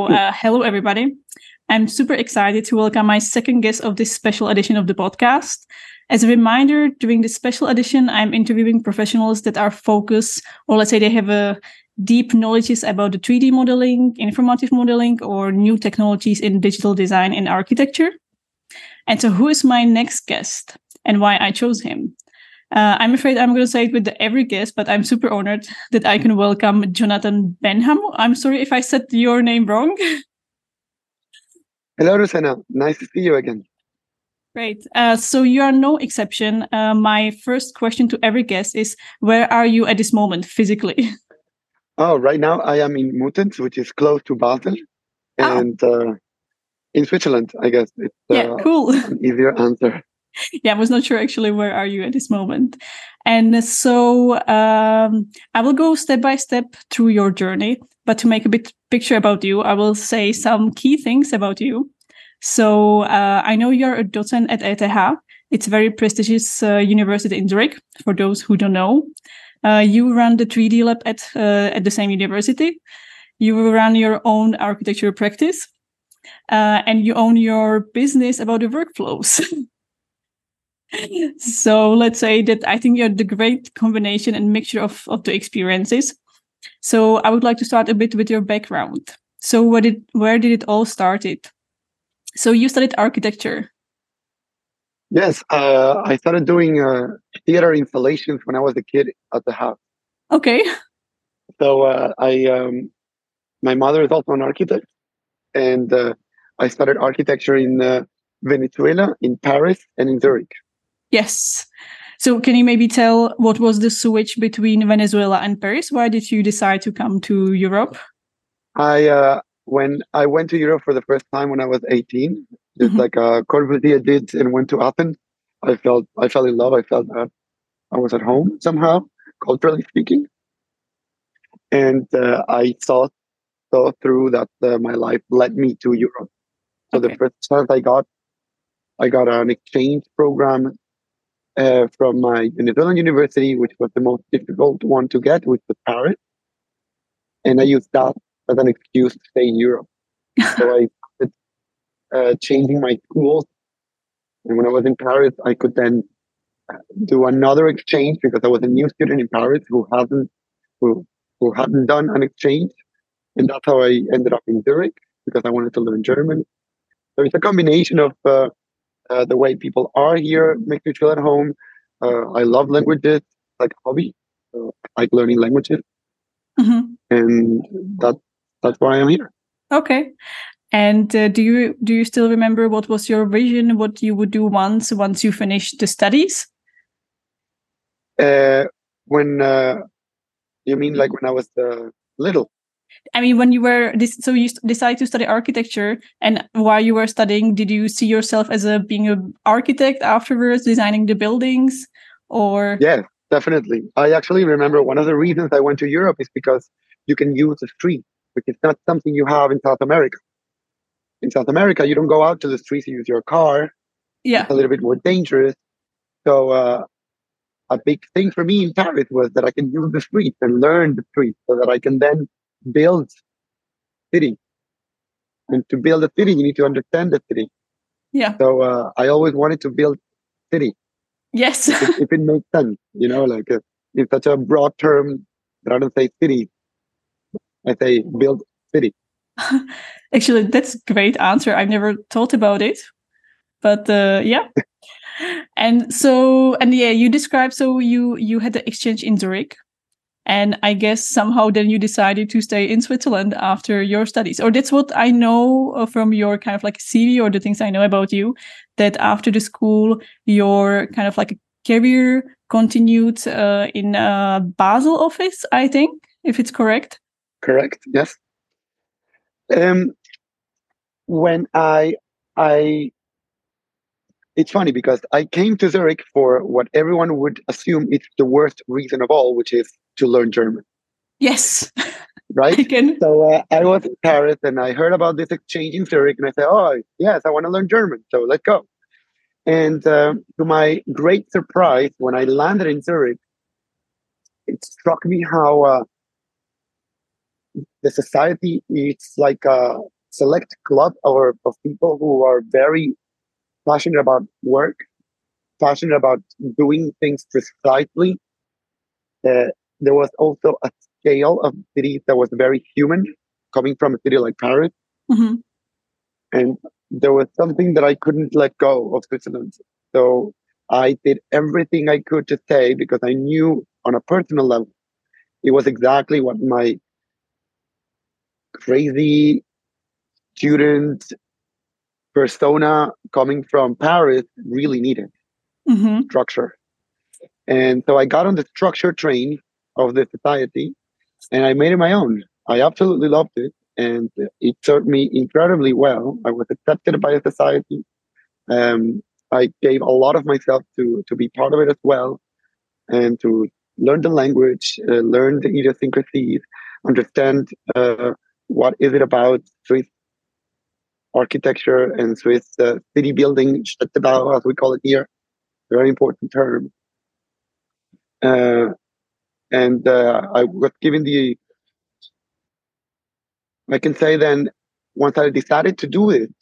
hello, everybody. I'm super excited to welcome my second guest of this special edition of the podcast. As a reminder, during this special edition, I'm interviewing professionals that are focused, or let's say they have a deep knowledge about the 3D modeling, informative modeling, or new technologies in digital design and architecture. And so who is my next guest and why I chose him? I'm afraid I'm going to say it with every guest, but I'm super honored that I can welcome Jonathan Benham. I'm sorry if I said your name wrong. Hello, Rosanna. Nice to see you again. Great. So you are no exception. My first question to every guest is, where are you at this moment physically? Oh, right now I am in Muttenz, which is close to Basel, and in Switzerland, I guess. It's cool. An easier answer. Yeah, I was not sure actually where are you at this moment. And so I will go step by step through your journey, but to make a bit picture about you, I will say some key things about you. So I know you're a docent at ETH. It's a very prestigious university in Zurich, for those who don't know. You run the 3D lab at the same university. You run your own architecture practice, and you own your business about the workflows. So let's say that I think you're the great combination and mixture of the experiences. So I would like to start a bit with your background. So where did it all started? So you studied architecture. Yes, I started doing theater installations when I was a kid at the house. Okay. So my mother is also an architect, and I studied architecture in Venezuela, in Paris, and in Zurich. Yes. So can you maybe tell what was the switch between Venezuela and Paris? Why did you decide to come to Europe? When I went to Europe for the first time when I was 18, just like Corbusier did and went to Athens, I fell in love. I felt that I was at home somehow, culturally speaking. And I saw through that my life led me to Europe. So the first chance I got an exchange program from my Venezuelan university, which was the most difficult one to get, which was Paris. And I used that as an excuse to stay in Europe. So I started changing my schools. And when I was in Paris, I could then do another exchange because I was a new student in Paris who hadn't done an exchange. And that's how I ended up in Zurich, because I wanted to learn German. So it's a combination of the way people are here makes me feel at home. I love languages, like a hobby. I like learning languages. And that's why I'm here. Okay. And do you still remember what was your vision, what you would do once you finished the studies? When you mean like when I was little? I mean, when you were so you decided to study architecture, and while you were studying, did you see yourself as being an architect afterwards, designing the buildings, or? Yeah, definitely. I actually remember one of the reasons I went to Europe is because you can use the street, which is not something you have in South America. In South America, you don't go out to the streets, you use your car. Yeah. It's a little bit more dangerous. So a big thing for me in Paris was that I can use the streets and learn the streets so that I can then build city. And to build a city, you need to understand the city. Yeah. So I always wanted to build city. Yes. if it makes sense, like in such a broad term that I don't say city, I say build city. Actually, that's a great answer. I've never thought about it, but yeah. And yeah, you described, so you had the exchange in Zurich, and I guess somehow then you decided to stay in Switzerland after your studies, or that's what I know from your kind of like CV or the things I know about you, that after the school your kind of like a career continued in Basel office, I think, if it's correct. Correct. Yes. When I it's funny because I came to Zurich for what everyone would assume is the worst reason of all, which is to learn German. Yes. Right? So I was in Paris and I heard about this exchange in Zurich and I said, oh, yes, I want to learn German. So let's go. And to my great surprise, when I landed in Zurich, it struck me how the society is like select club of people who are very passionate about work, passionate about doing things precisely. There was also a scale of cities that was very human, coming from a city like Paris. Mm-hmm. And there was something that I couldn't let go of Switzerland. So I did everything I could to stay because I knew on a personal level, it was exactly what my crazy student persona coming from Paris really needed. Mm-hmm. Structure. And so I got on the structure train of the society and I made it my own. I absolutely loved it. And it served me incredibly well. I was accepted by the society. I gave a lot of myself to be part of it as well, and to learn the language, learn the idiosyncrasies, understand what is it about Swiss architecture and Swiss city building, Städtebau, as we call it here, very important term. And I was given I can say then, once I decided to do it,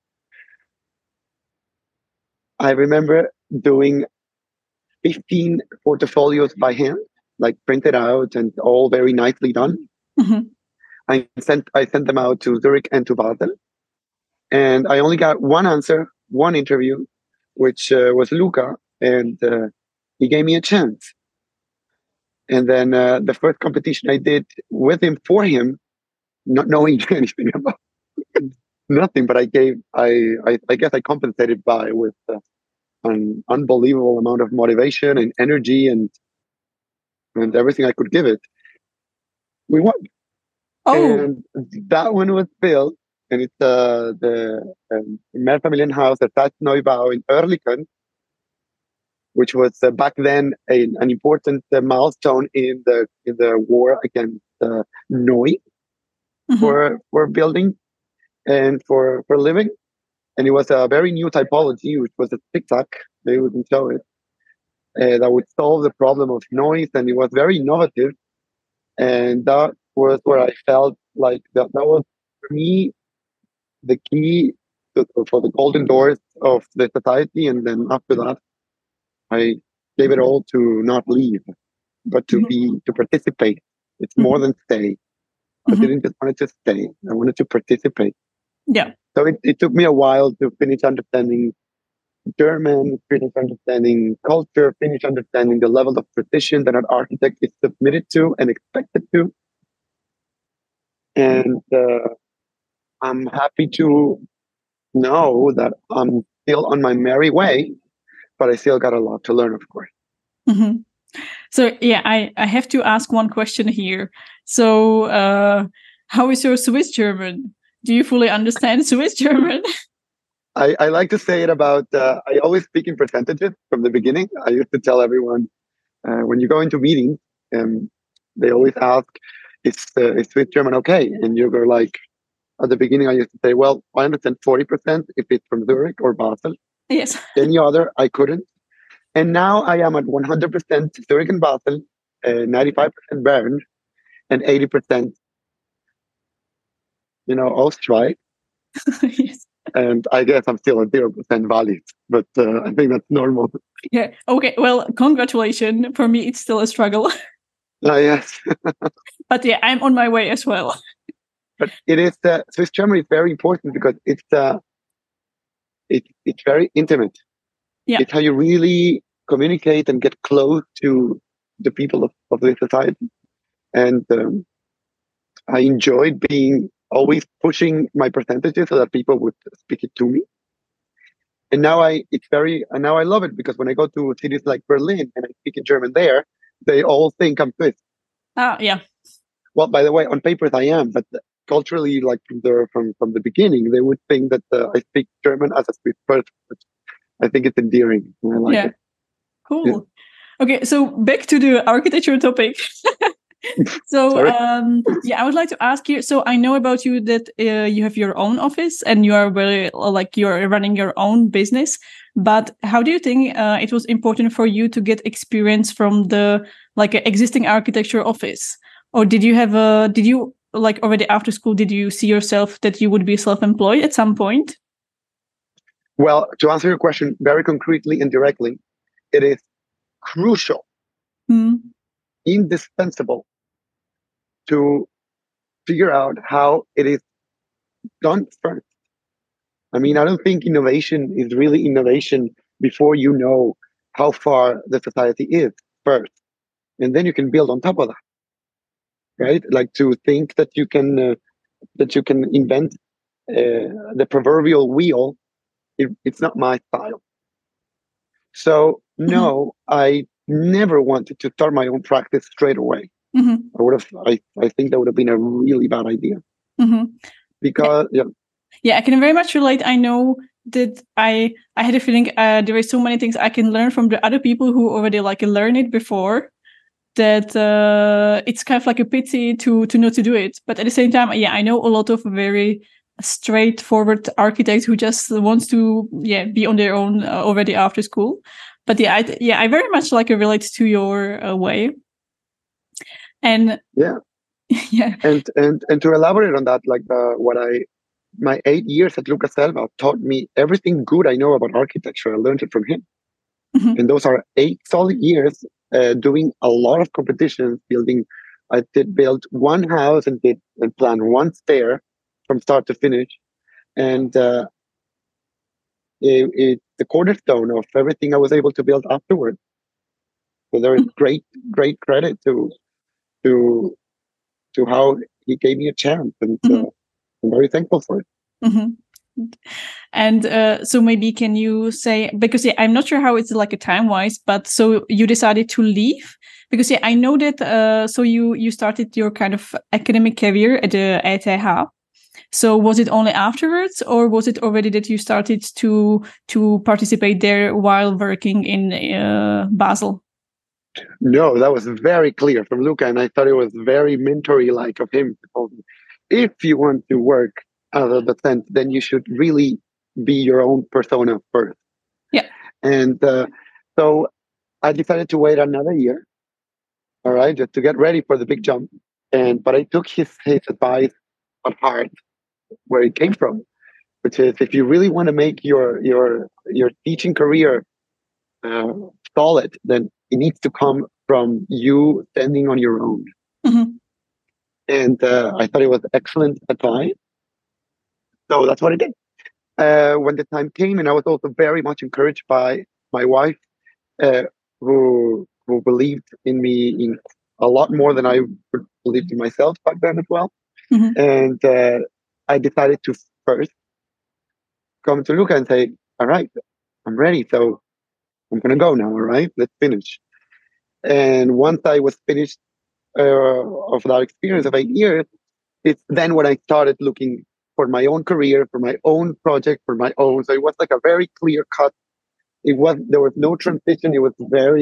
I remember doing 15 portfolios by hand, like printed out and all very nicely done. Mm-hmm. I sent them out to Zurich and to Basel. And I only got one answer, one interview, which was Luca, and he gave me a chance. And then the first competition I did with him, for him, not knowing anything about nothing, but I guess I compensated with an unbelievable amount of motivation and energy and everything I could give it. We won. Oh. And that one was built, and it's the Mehrfamilienhaus, the Stadtneubau in Oerlikon, which was back then an important milestone in the war against Neu for building and for living. And it was a very new typology, which was a tic-tac, they wouldn't show it, that would solve the problem of noise, and it was very innovative. And that was where I felt like that was, for me, the key for the golden doors of the society. And then after that, I gave it all to not leave, but to participate. It's more than stay. I didn't just want to stay. I wanted to participate. Yeah. So it took me a while to finish understanding German, finish understanding culture, finish understanding the level of precision that an architect is submitted to and expected to. And I'm happy to know that I'm still on my merry way, but I still got a lot to learn, of course. Mm-hmm. So yeah, I have to ask one question here. So how is your Swiss German? Do you fully understand Swiss German? I like to say it about, I always speak in percentages from the beginning. I used to tell everyone, when you go into meetings, they always ask, is Swiss German okay? And you go like, at the beginning, I used to say, well, I understand 40% if it's from Zurich or Basel. Yes. Any other, I couldn't. And now I am at 100% Zurich and Basel, 95% Bern, and 80%, Österreich. Yes. And I guess I'm still at 0% valid, but I think that's normal. Yeah. Okay. Well, congratulations. For me, it's still a struggle. Yes. But yeah, I'm on my way as well. But it is Swiss German is very important because it's very intimate. Yeah. It's how you really communicate and get close to the people of the society. And I enjoyed being always pushing my percentages so that people would speak it to me. And now I love it because when I go to cities like Berlin and I speak in German there, they all think I'm Swiss. Yeah. Well, by the way, on papers I am, but culturally, like from the beginning, they would think that I speak German as a Swiss person. I think it's endearing. I like it. Cool. Yeah. Okay, so back to the architecture topic. So I would like to ask you. So I know about you that you have your own office and you are you're running your own business. But how do you think it was important for you to get experience from the existing architecture office, or did you like already after school, did you see yourself that you would be self-employed at some point? Well, to answer your question very concretely and directly, it is crucial, indispensable to figure out how it is done first. I mean, I don't think innovation is really innovation before you know how far the society is first. And then you can build on top of that, right? Like to think that you can invent the proverbial wheel. It's not my style. So no, I never wanted to start my own practice straight away. I think that would have been a really bad idea. Because yeah, I can very much relate. I know that I had a feeling there are so many things I can learn from the other people who already like learn it before, that it's kind of like a pity to not to do it. But at the same time, yeah, I know a lot of very straightforward architects who just wants to be on their own already after school. But I very much like relate to your way. And yeah. And to elaborate on that, like my 8 years at Lucas Selva taught me everything good I know about architecture. I learned it from him. And those are 8 solid years doing a lot of competitions, building. I did build one house and plan one stair from start to finish. And it's the cornerstone of everything I was able to build afterwards. So there is great credit to how he gave me a chance, and I'm very thankful for it. And so maybe can you say, because I'm not sure how it's like a time-wise, but so you decided to leave? Because I know that so you started your kind of academic career at the ETH. So was it only afterwards, or was it already that you started to participate there while working in Basel? No, that was very clear from Luca, and I thought it was very mentory-like of him. If you want to work as a docent, then you should really be your own persona first. Yeah. And so I decided to wait another year, all right, just to get ready for the big jump. But I took his advice at heart, where it came from, which is if you really want to make your teaching career solid, then it needs to come from you standing on your own. And I thought it was excellent advice. So that's what I did. When the time came, and I was also very much encouraged by my wife, who believed in me in a lot more than I believed in myself back then as well. And I decided to first come to Luca and say, all right, I'm ready. So I'm going to go now. All right, let's finish. And once I was finished of that experience of 8 years, it's then when I started looking for my own career, for my own project, for my own. So it was like a very clear cut. There was no transition. It was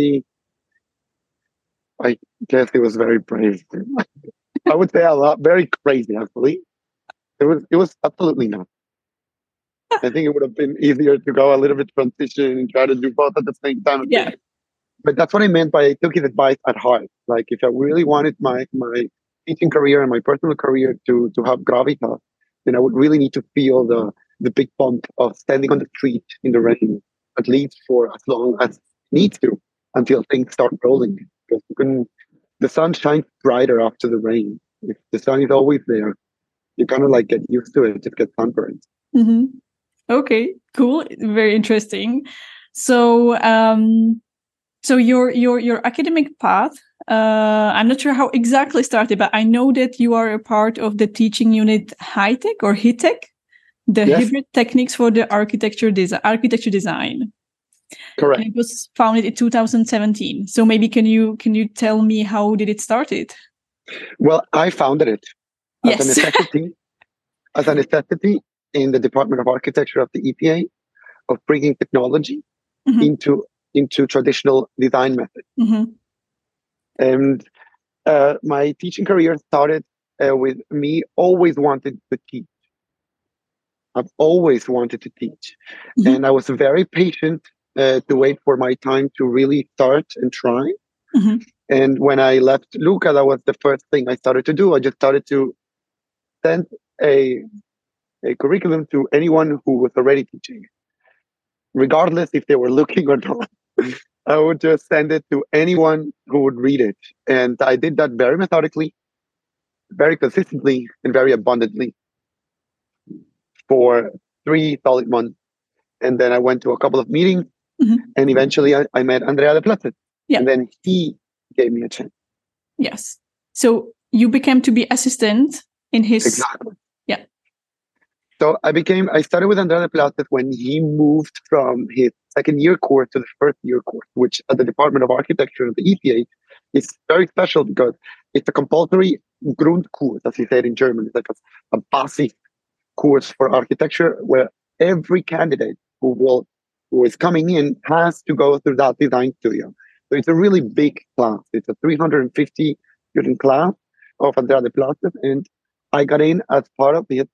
I guess it was very brave. I would say very crazy, actually. It was absolutely not. I think it would have been easier to go a little bit transition and try to do both at the same time. Yeah. But that's what I meant by I took his advice at heart. Like if I really wanted my teaching career and my personal career to have gravitas, then I would really need to feel the big bump of standing on the street in the rain, at least for as long as it needs to, until things start rolling. Because the sun shines brighter after the rain. If the sun is always there, you kind of like get used to it, just get sunburned. Okay, cool. Very interesting. So so your academic path, I'm not sure how exactly started, but I know that you are a part of the teaching unit HITEC or HITEC, the Hybrid Techniques for the Architecture Design. Correct. And it was founded in 2017. So maybe can you tell me how did it started? Well, I founded it as a necessity in the Department of Architecture of the EPA, of bringing technology into traditional design methods. And my teaching career started with me always wanting to teach. I've always wanted to teach. And I was very patient to wait for my time to really start and try. And when I left Luca, that was the first thing I started to do. I just started to sent a, a curriculum to anyone who was already teaching, regardless if they were looking or not. I would just send it to anyone who would read it. And I did that very methodically, very consistently, and very abundantly for 3 solid months. And then I went to a couple of meetings, and eventually I met Andrea de Platzes. Yeah. And then he gave me a chance. Yes. So you became to be assistant in his... Exactly. Yeah. So I started with Andrea de Platzes when he moved from his second year course to the first year course, which at the Department of Architecture of the ETH is very special because it's a compulsory Grundkurs, as he said in German. It's like a basic course for architecture where every candidate who is coming in has to go through that design studio. So it's a really big class. It's a 350 student class of Andrea de Platzes, and I got in as part of the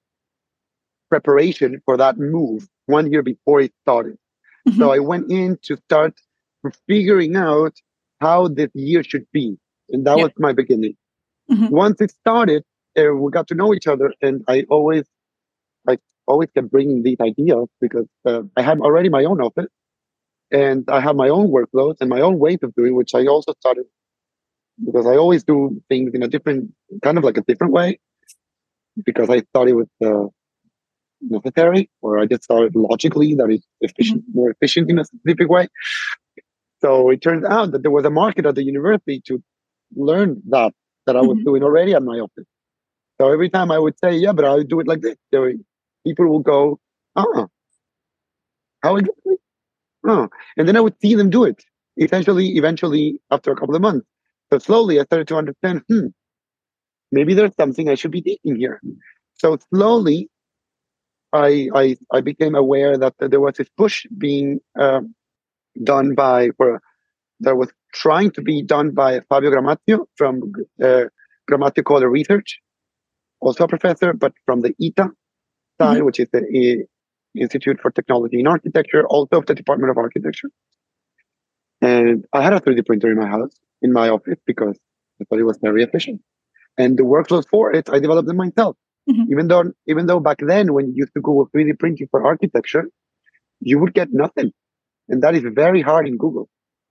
preparation for that move 1 year before it started. So I went in to start figuring out how this year should be, and that was my beginning. Once it started, we got to know each other, and I always kept bringing these ideas because I had already my own office, and I have my own workloads and my own ways of doing, which I also started because I always do things in a different way, because I thought it was necessary, or I just thought logically that it's efficient, more efficient in a specific way. So it turns out that there was a market at the university to learn that I was doing already at my office. So every time I would say, yeah, but I'll do it like this, people will go, how exactly? Oh, and then I would see them do it. Eventually, after a couple of months. So slowly I started to understand, maybe there's something I should be teaching here. So slowly, I became aware that there was this push being done that was trying to be done by Fabio Gramazio from Gramazio Kohler Research, also a professor, but from the ITA side, which is the Institute for Technology in Architecture, also of the Department of Architecture. And I had a 3D printer in my house, in my office, because I thought it was very efficient. And the workflows for it, I developed them myself. Even though back then, when you used to Google 3D printing for architecture, you would get nothing. And that is very hard in Google.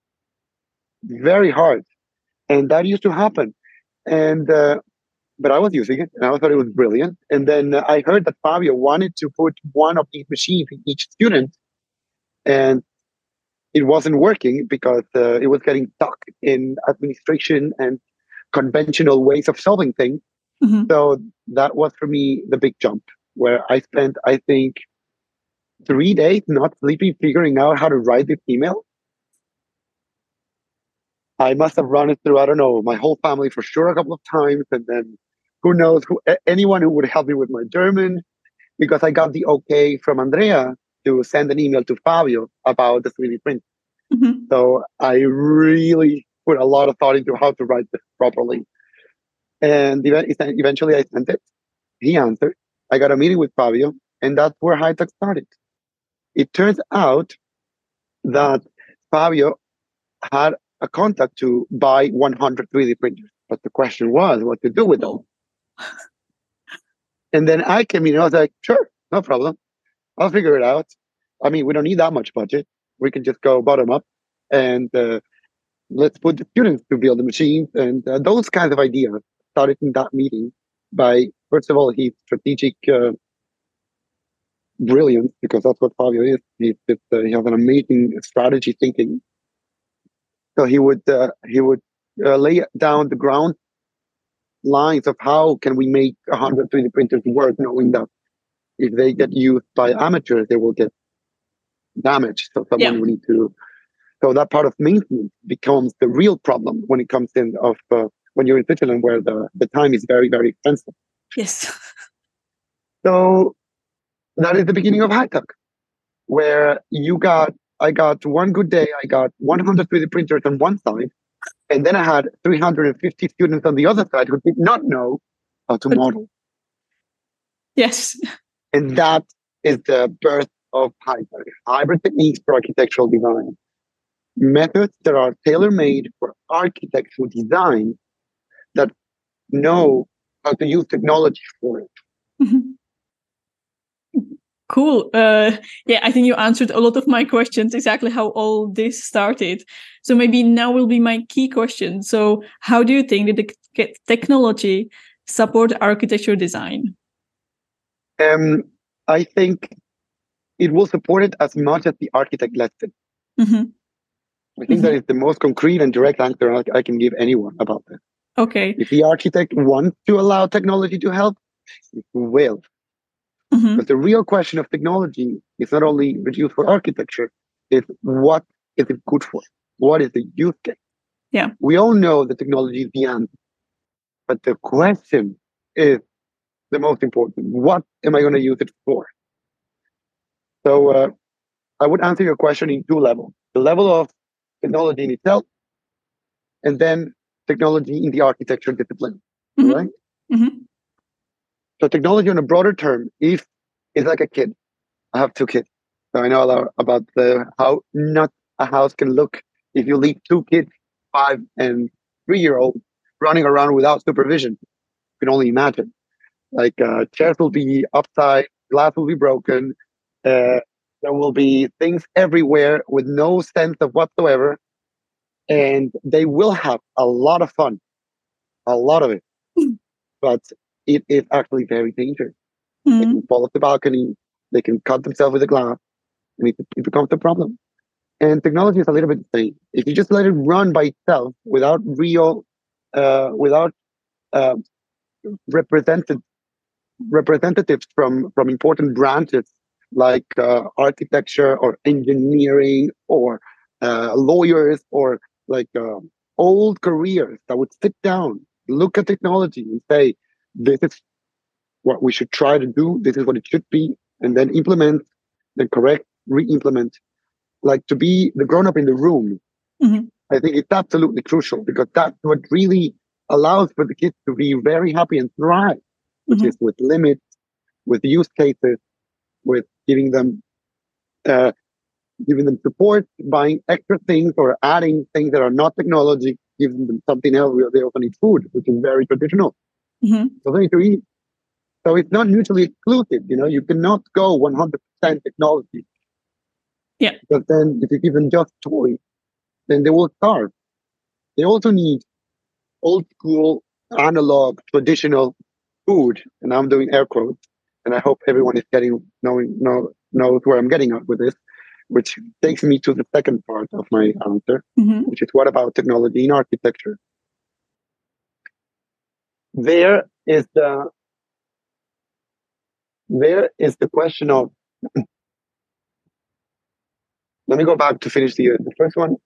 Very hard. And that used to happen. And but I was using it, and I thought it was brilliant. And then I heard that Fabio wanted to put one of these machines in each student, and it wasn't working because it was getting stuck in administration and conventional ways of solving things. So that was for me the big jump, where I spent, I think, 3 days not sleeping, figuring out how to write this email. I must have run it through, I don't know, my whole family for sure a couple of times. And then who knows, anyone who would help me with my German, because I got the okay from Andrea to send an email to Fabio about the 3D print. So I really put a lot of thought into how to write this properly. And eventually I sent it. He answered. I got a meeting with Fabio, and that's where HITECH started. It turns out that Fabio had a contact to buy 100 3D printers. But the question was what to do with them. And then I came in and I was like, sure, no problem. I'll figure it out. I mean, we don't need that much budget. We can just go bottom up and let's put the students to build the machines. And those kinds of ideas started in that meeting by, first of all, his strategic brilliance, because that's what Fabio is. He has an amazing strategy thinking. So he would lay down the ground lines of how can we make 100 3D printers work, knowing that if they get used by amateurs, they will get damaged. So someone will need to. So that part of maintenance becomes the real problem when it comes in of when you're in Switzerland, where the time is very, very expensive. Yes. So that is the beginning of HITECH, where I got one good day, I got 100 3D printers on one side, and then I had 350 students on the other side who did not know how to model. Yes. And that is the birth of HITECH, hybrid techniques for architectural design. Methods that are tailor-made for architectural design that know how to use technology for it. Mhm. Cool. Yeah, I think you answered a lot of my questions, exactly how all this started. So maybe now will be my key question. So how do you think that the technology support architecture design? I think it will support it as much as the architect lets it. Mm-hmm. I think that Mm-hmm. is the most concrete and direct answer I can give anyone about this. Okay. If the architect wants to allow technology to help, it will. Mm-hmm. But the real question of technology is not only reduced for architecture, it's what is it good for? What is the use case? Yeah. We all know that technology is the answer, but the question is the most important. What am I going to use it for? So I would answer your question in two levels: the level of technology in itself, and then technology in the architecture discipline. Mm-hmm. Right? Mm-hmm. So technology on a broader term is like a kid. I have two kids, so I know a lot about how not a house can look if you leave two kids, 5 and 3 year old, running around without supervision. You can only imagine. Like chairs will be upside, glass will be broken. There will be things everywhere with no sense of whatsoever, and they will have a lot of fun, a lot of it. But it is actually very dangerous. They Mm-hmm. can fall off the balcony, they can cut themselves with a glass, and it becomes a problem. And technology is a little bit the same. If you just let it run by itself without without uh, represented representatives from important branches like architecture or engineering or lawyers or like old careers that would sit down, look at technology and say, this is what we should try to do, this is what it should be, and then implement, then correct, re-implement, like to be the grown-up in the room. Mm-hmm. I think it's absolutely crucial because that's what really allows for the kids to be very happy and thrive, which Mm-hmm. is with limits, with use cases, with uh, giving them support, buying extra things or adding things that are not technology, giving them something else. They also need food, which is very traditional. Mm-hmm. So they need to eat. So it's not mutually exclusive. You cannot go 100% technology. Yeah. Because then if you give them just toys, then they will starve. They also need old school, analog, traditional food. And I'm doing air quotes. And I hope everyone is knows where I'm getting at with this, which takes me to the second part of my answer, Mm-hmm. which is what about technology in architecture? There is the question of, let me go back to finish the first one.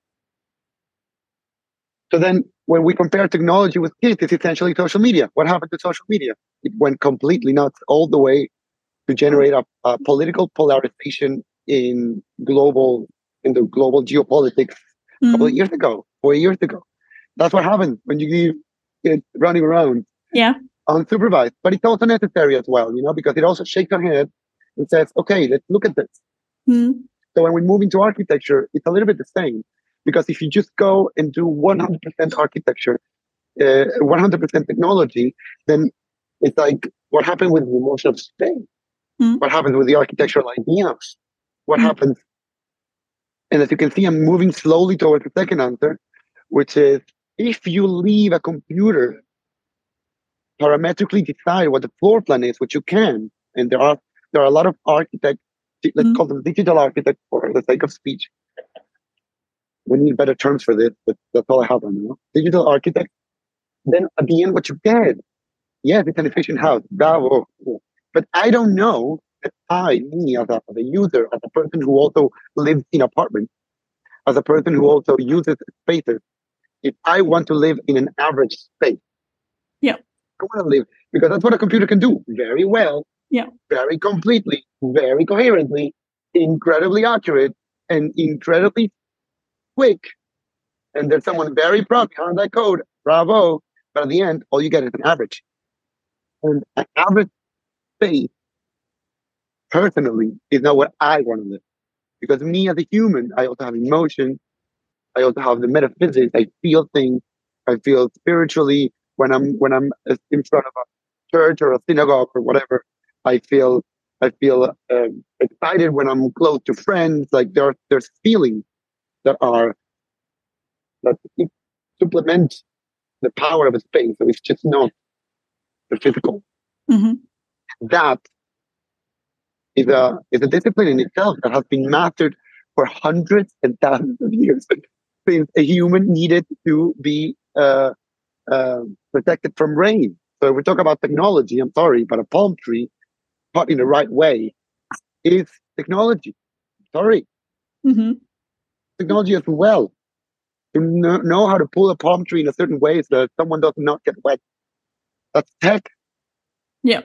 So then when we compare technology with kids, it's essentially social media. What happened to social media? It went completely nuts all the way to generate a political polarization in the global geopolitics a couple of Mm-hmm. years ago, 4 years ago. That's what happens when you leave kids running around Yeah. unsupervised. But it's also necessary as well, because it also shakes our head and says, okay, let's look at this. Mm-hmm. So when we move into architecture, it's a little bit the same. Because if you just go and do 100% architecture, 100% technology, then it's like what happened with the emotion of space? Mm-hmm. What happens with the architectural ideas? What happens? And as you can see, I'm moving slowly towards the second answer, which is if you leave a computer parametrically decide what the floor plan is, which you can, and there are a lot of architects, let's call them digital architects for the sake of speech. We need better terms for this, but that's all I have on now. Digital architect. Then at the end, what you get, yes, it's an efficient house. Bravo. But I don't know that me as a user, as a person who also lives in apartments, as a person who also uses spaces, if I want to live in an average space, Yeah. I want to live because that's what a computer can do very well, Yeah. very completely, very coherently, incredibly accurate, and incredibly quick. And there's someone very proud behind that code. Bravo. But at the end, all you get is an average. And an average space, personally, is not what I want to live. Because me as a human, I also have emotion. I also have the metaphysics. I feel things. I feel spiritually when I'm in front of church or a synagogue or whatever, I feel excited when I'm close to friends. Like there's feelings that are that supplement the power of a space. So it's just not the physical. Mm-hmm. That is a discipline in itself that has been mastered for hundreds and thousands of years since a human needed to be protected from rain. So if we talk about technology, I'm sorry, but a palm tree taught in the right way is technology. Sorry, Mm-hmm. technology as well. To know how to pull a palm tree in a certain way so that someone does not get wet. That's tech. Yeah.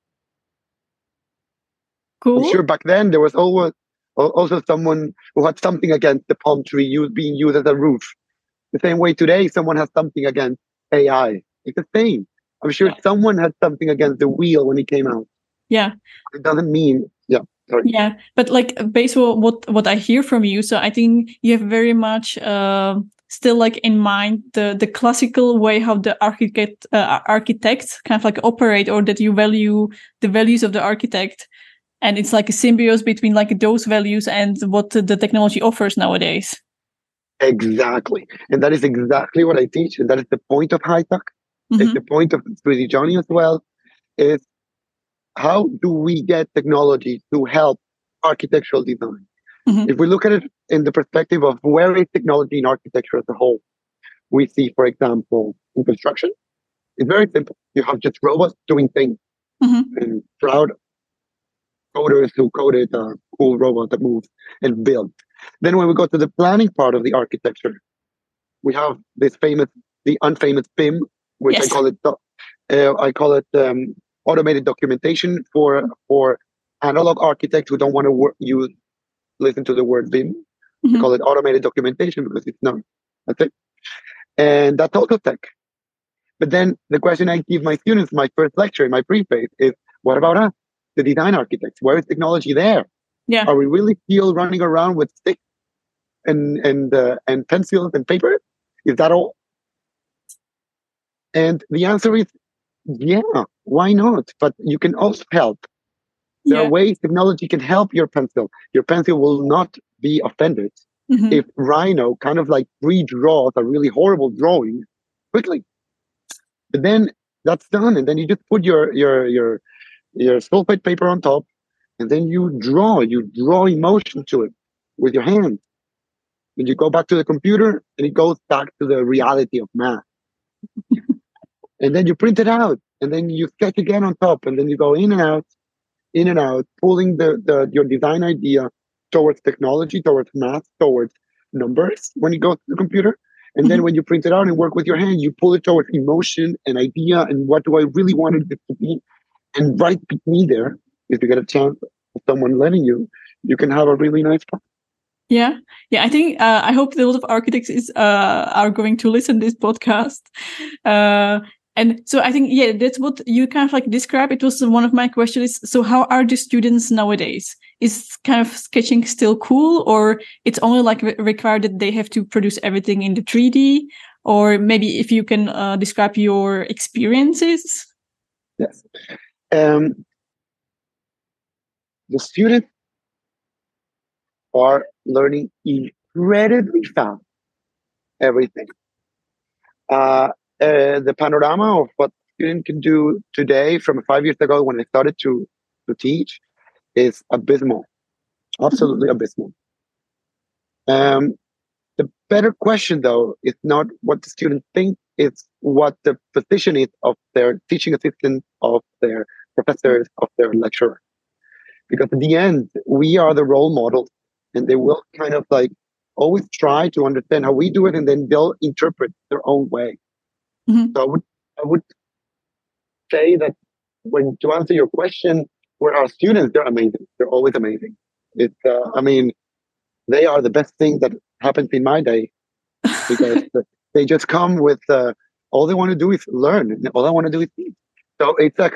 I'm Cool. sure back then there was always also someone who had something against the palm tree being used as a roof. The same way today, someone has something against AI. It's the same. I'm sure someone had something against the wheel when it came out. Yeah. It doesn't mean, sorry. Yeah, but like based on what I hear from you, so I think you have very much still like in mind the classical way how the architects kind of like operate, or that you value the values of the architect, and it's like a symbiosis between like those values and what the technology offers nowadays. Exactly. And that is exactly what I teach. And that is the point of high tech. Mm-hmm. It's the point of 3D Johnny as well. Is how do we get technology to help architectural design? Mm-hmm. If we look at it in the perspective of where is technology in architecture as a whole, we see, for example, in construction, it's very simple. You have just robots doing things, Mm-hmm. and proud coders who coded a cool robot that moves and builds. Then when we go to the planning part of the architecture, we have the unfamous BIM, which Yes. I call it automated documentation for analog architects who don't want to listen to the word BIM. Mm-hmm. I call it automated documentation because it's not. That's it. And that's also tech. But then the question I give my students, my first lecture in my preface is, what about us, the design architects? Where is technology there? Yeah. Are we really still running around with sticks and pencils and paper? Is that all? And the answer is, yeah, why not? But you can also help. There are ways technology can help your pencil. Your pencil will not be offended if Rhino kind of like redraws a really horrible drawing quickly. But then that's done, and then you just put your sulfate paper on top, and then you draw emotion to it with your hands. Then you go back to the computer, and it goes back to the reality of math. And then you print it out, and then you sketch again on top, and then you go in and out, pulling your design idea towards technology, towards math, towards numbers when it goes to the computer. And then when you print it out and work with your hand, you pull it towards emotion and idea and what do I really want it to be. And right between there, if you get a chance of someone letting you, you can have a really nice time. Yeah. I think I hope a lot of architects are going to listen to this podcast. And so I think, that's what you kind of like describe. It was one of my questions. So how are the students nowadays? Is kind of sketching still cool, or it's only like required that they have to produce everything in the 3D? Or maybe if you can describe your experiences. Yes. The students are learning incredibly fast everything. The panorama of what students can do today from 5 years ago when I started to teach is abysmal, absolutely abysmal. The better question, though, is not what the students think, it's what the position is of their teaching assistant, of their professors, of their lecturer. Because at the end, we are the role models, and they will kind of like always try to understand how we do it, and then they'll interpret their own way. So I would say that to answer your question, where our students, they're amazing. They're always amazing. It's, they are the best thing that happens in my day, because they just come with all they want to do is learn, and all I want to do is teach. So it's like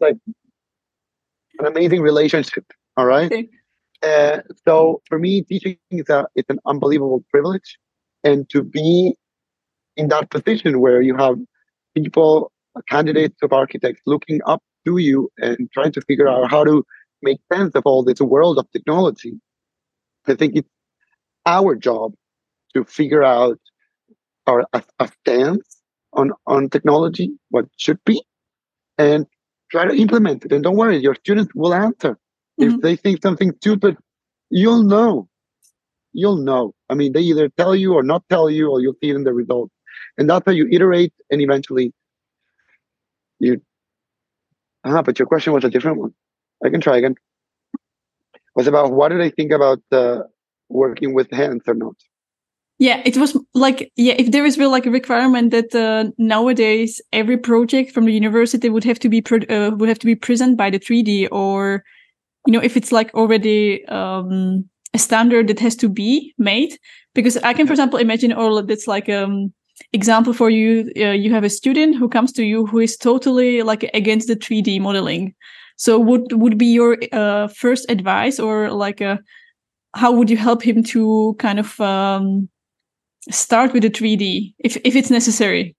an amazing relationship. All right. Okay. So for me, teaching it's an unbelievable privilege, and to be in that position where you have people candidates of architects looking up to you and trying to figure out how to make sense of all this world of technology. I think it's our job to figure out a stance on technology, what should be, and try to implement it. And don't worry, your students will answer. If they think something stupid, you'll know. You'll know. I mean, they either tell you or not tell you, or you'll see it in the results. And that's how you iterate, and eventually you. But your question was a different one. I can try again. It was about what did I think about working with hands or not? Yeah, it was like, if there is like a requirement that nowadays every project from the university would have to be present by the 3D, or if it's like already a standard that has to be made. Because I can, for example, imagine, or that's like example for you. You have a student who comes to you who is totally like against the 3D modeling. So would be your first advice, or like how would you help him to kind of start with the 3D if it's necessary?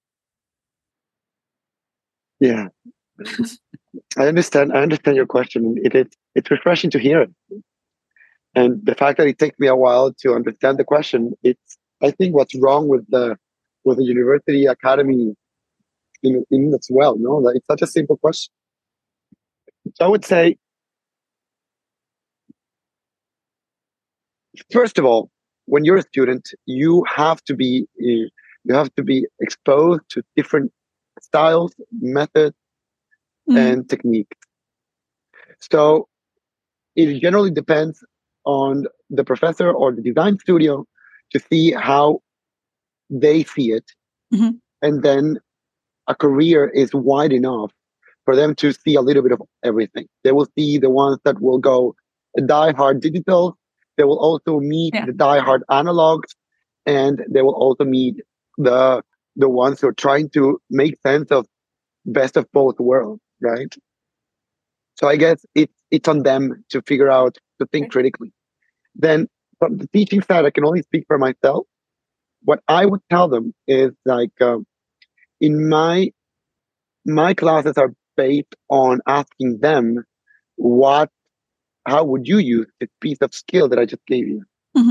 Yeah, I understand your question. It's refreshing to hear it, and the fact that it takes me a while to understand the question. It's, I think, what's wrong with the university academy in as well. No, that it's such a simple question. So I would say, first of all, when you're a student, you have to be exposed to different styles, methods, and techniques. So it generally depends on the professor or the design studio to see how they see it. And then a career is wide enough for them to see a little bit of everything. They will see the ones that will go die-hard digital. They will also meet the die-hard analogs, and they will also meet the ones who are trying to make sense of best of both worlds, right? So I guess it's on them to figure out, to think critically. Then from the teaching side, I can only speak for myself. What I would tell them is like, in my classes are based on asking them how would you use this piece of skill that I just gave you?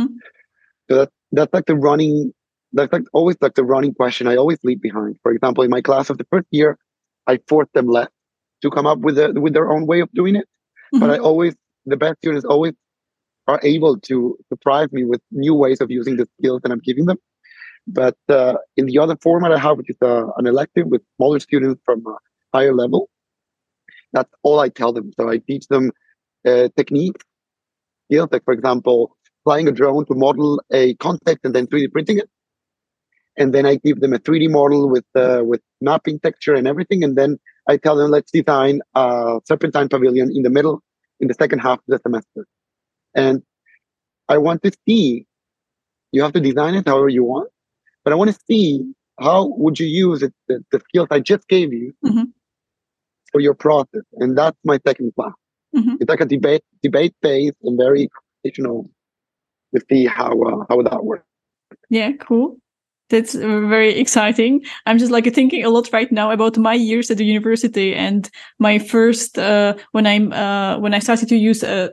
So that's like always like the running question I always leave behind. For example, in my class of the first year, I forced them less to come up with their own way of doing it. But the best students always are able to surprise me with new ways of using the skills that I'm giving them. But in the other format I have, which is an elective with smaller students from a higher level, that's all I tell them. So I teach them techniques, skills, like, for example, flying a drone to model a context and then 3D printing it. And then I give them a 3D model with mapping texture and everything. And then I tell them, let's design a serpentine pavilion in the second half of the semester. And I want to see, you have to design it however you want, but I want to see how would you use it, the skills I just gave you for your process. And that's my second class. It's like a debate based and very conversational to see how that works. Yeah, cool. That's very exciting. I'm just like thinking a lot right now about my years at the university and my first when I started to use a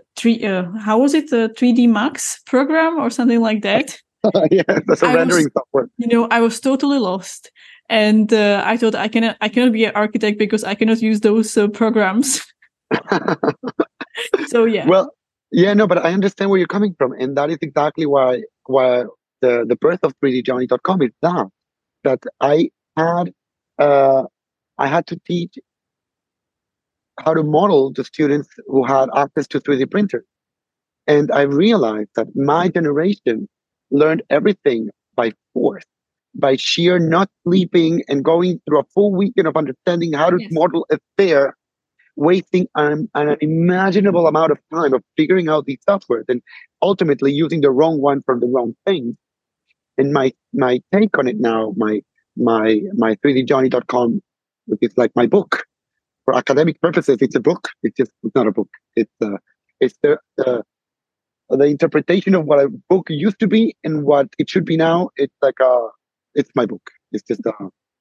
3D Max program or something like that. Yeah, that's a rendering software. I was totally lost, and I thought I cannot be an architect because I cannot use those programs. So yeah. Well, yeah, no, but I understand where you're coming from, and that is exactly why the birth of 3djohnny.com is that I had to teach how to model to students who had access to 3D printers. And I realized that my generation learned everything by force, by sheer not sleeping and going through a full weekend of understanding how to model a sphere, wasting an unimaginable amount of time of figuring out these softwares and ultimately using the wrong one for the wrong thing. And my take on it now, my 3djohnny.com, which is like my book for academic purposes. It's a book. It's not a book. It's the interpretation of what a book used to be and what it should be now. It's like it's my book. It's just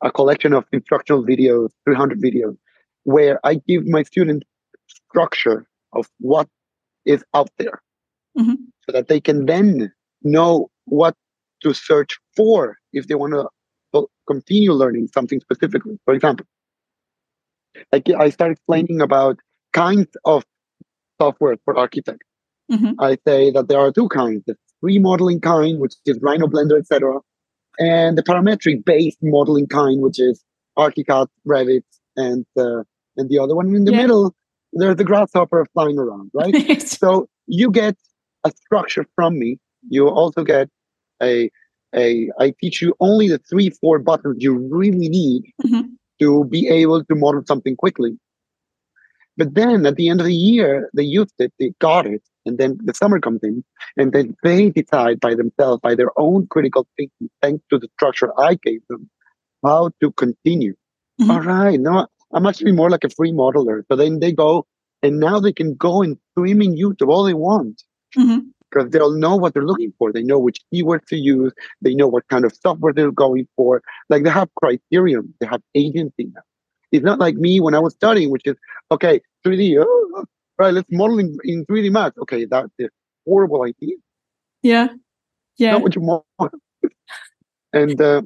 a collection of instructional videos, 300 videos, where I give my students structure of what is out there, so that they can then know what to search for if they want to continue learning something specifically. For example, I start explaining about kinds of software for architects. I say that there are two kinds: the free modeling kind, which is Rhino, Blender, etc., and the parametric based modeling kind, which is ArchiCAD, Revit, and the other one in the middle. There's the grasshopper flying around, right? So you get a structure from me. You also get I teach you only the 3-4 buttons you really need to be able to model something quickly. But then at the end of the year, they used it, they got it, and then the summer comes in, and then they decide by themselves, by their own critical thinking, thanks to the structure I gave them, how to continue. All right, no, I'm actually more like a free modeler. So then they go, and now they can go and stream in YouTube all they want. Because they'll know what they're looking for. They know which keywords to use. They know what kind of software they're going for. Like, they have criterion. They have agency now. It's not like me when I was studying, which is, okay, 3D, right, let's model in 3D Max. Okay, that's a horrible idea. Yeah. Not what you want. And that's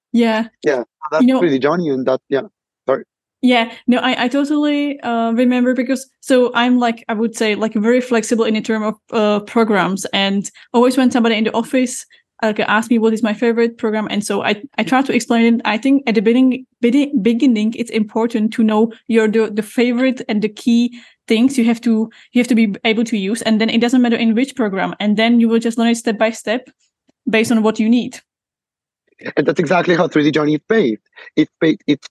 3D Johnny, and that, sorry. Yeah, no, I totally remember, because so I'm like, I would say, like, very flexible in the term of programs, and always when somebody in the office ask me what is my favorite program, and so I try to explain it. I think at the beginning it's important to know the favorite and the key things you have to be able to use, and then it doesn't matter in which program, and then you will just learn it step by step based on what you need. And that's exactly how 3D Johnny is based. It's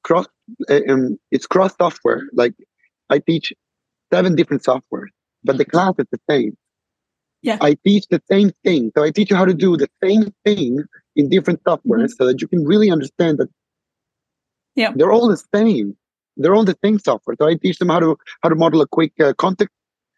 cross software. Like, I teach 7 different softwares, but the class is the same. Yeah. I teach the same thing. So I teach you how to do the same thing in different softwares, so that you can really understand that they're all the same. They're all the same software. So I teach them how to model a quick context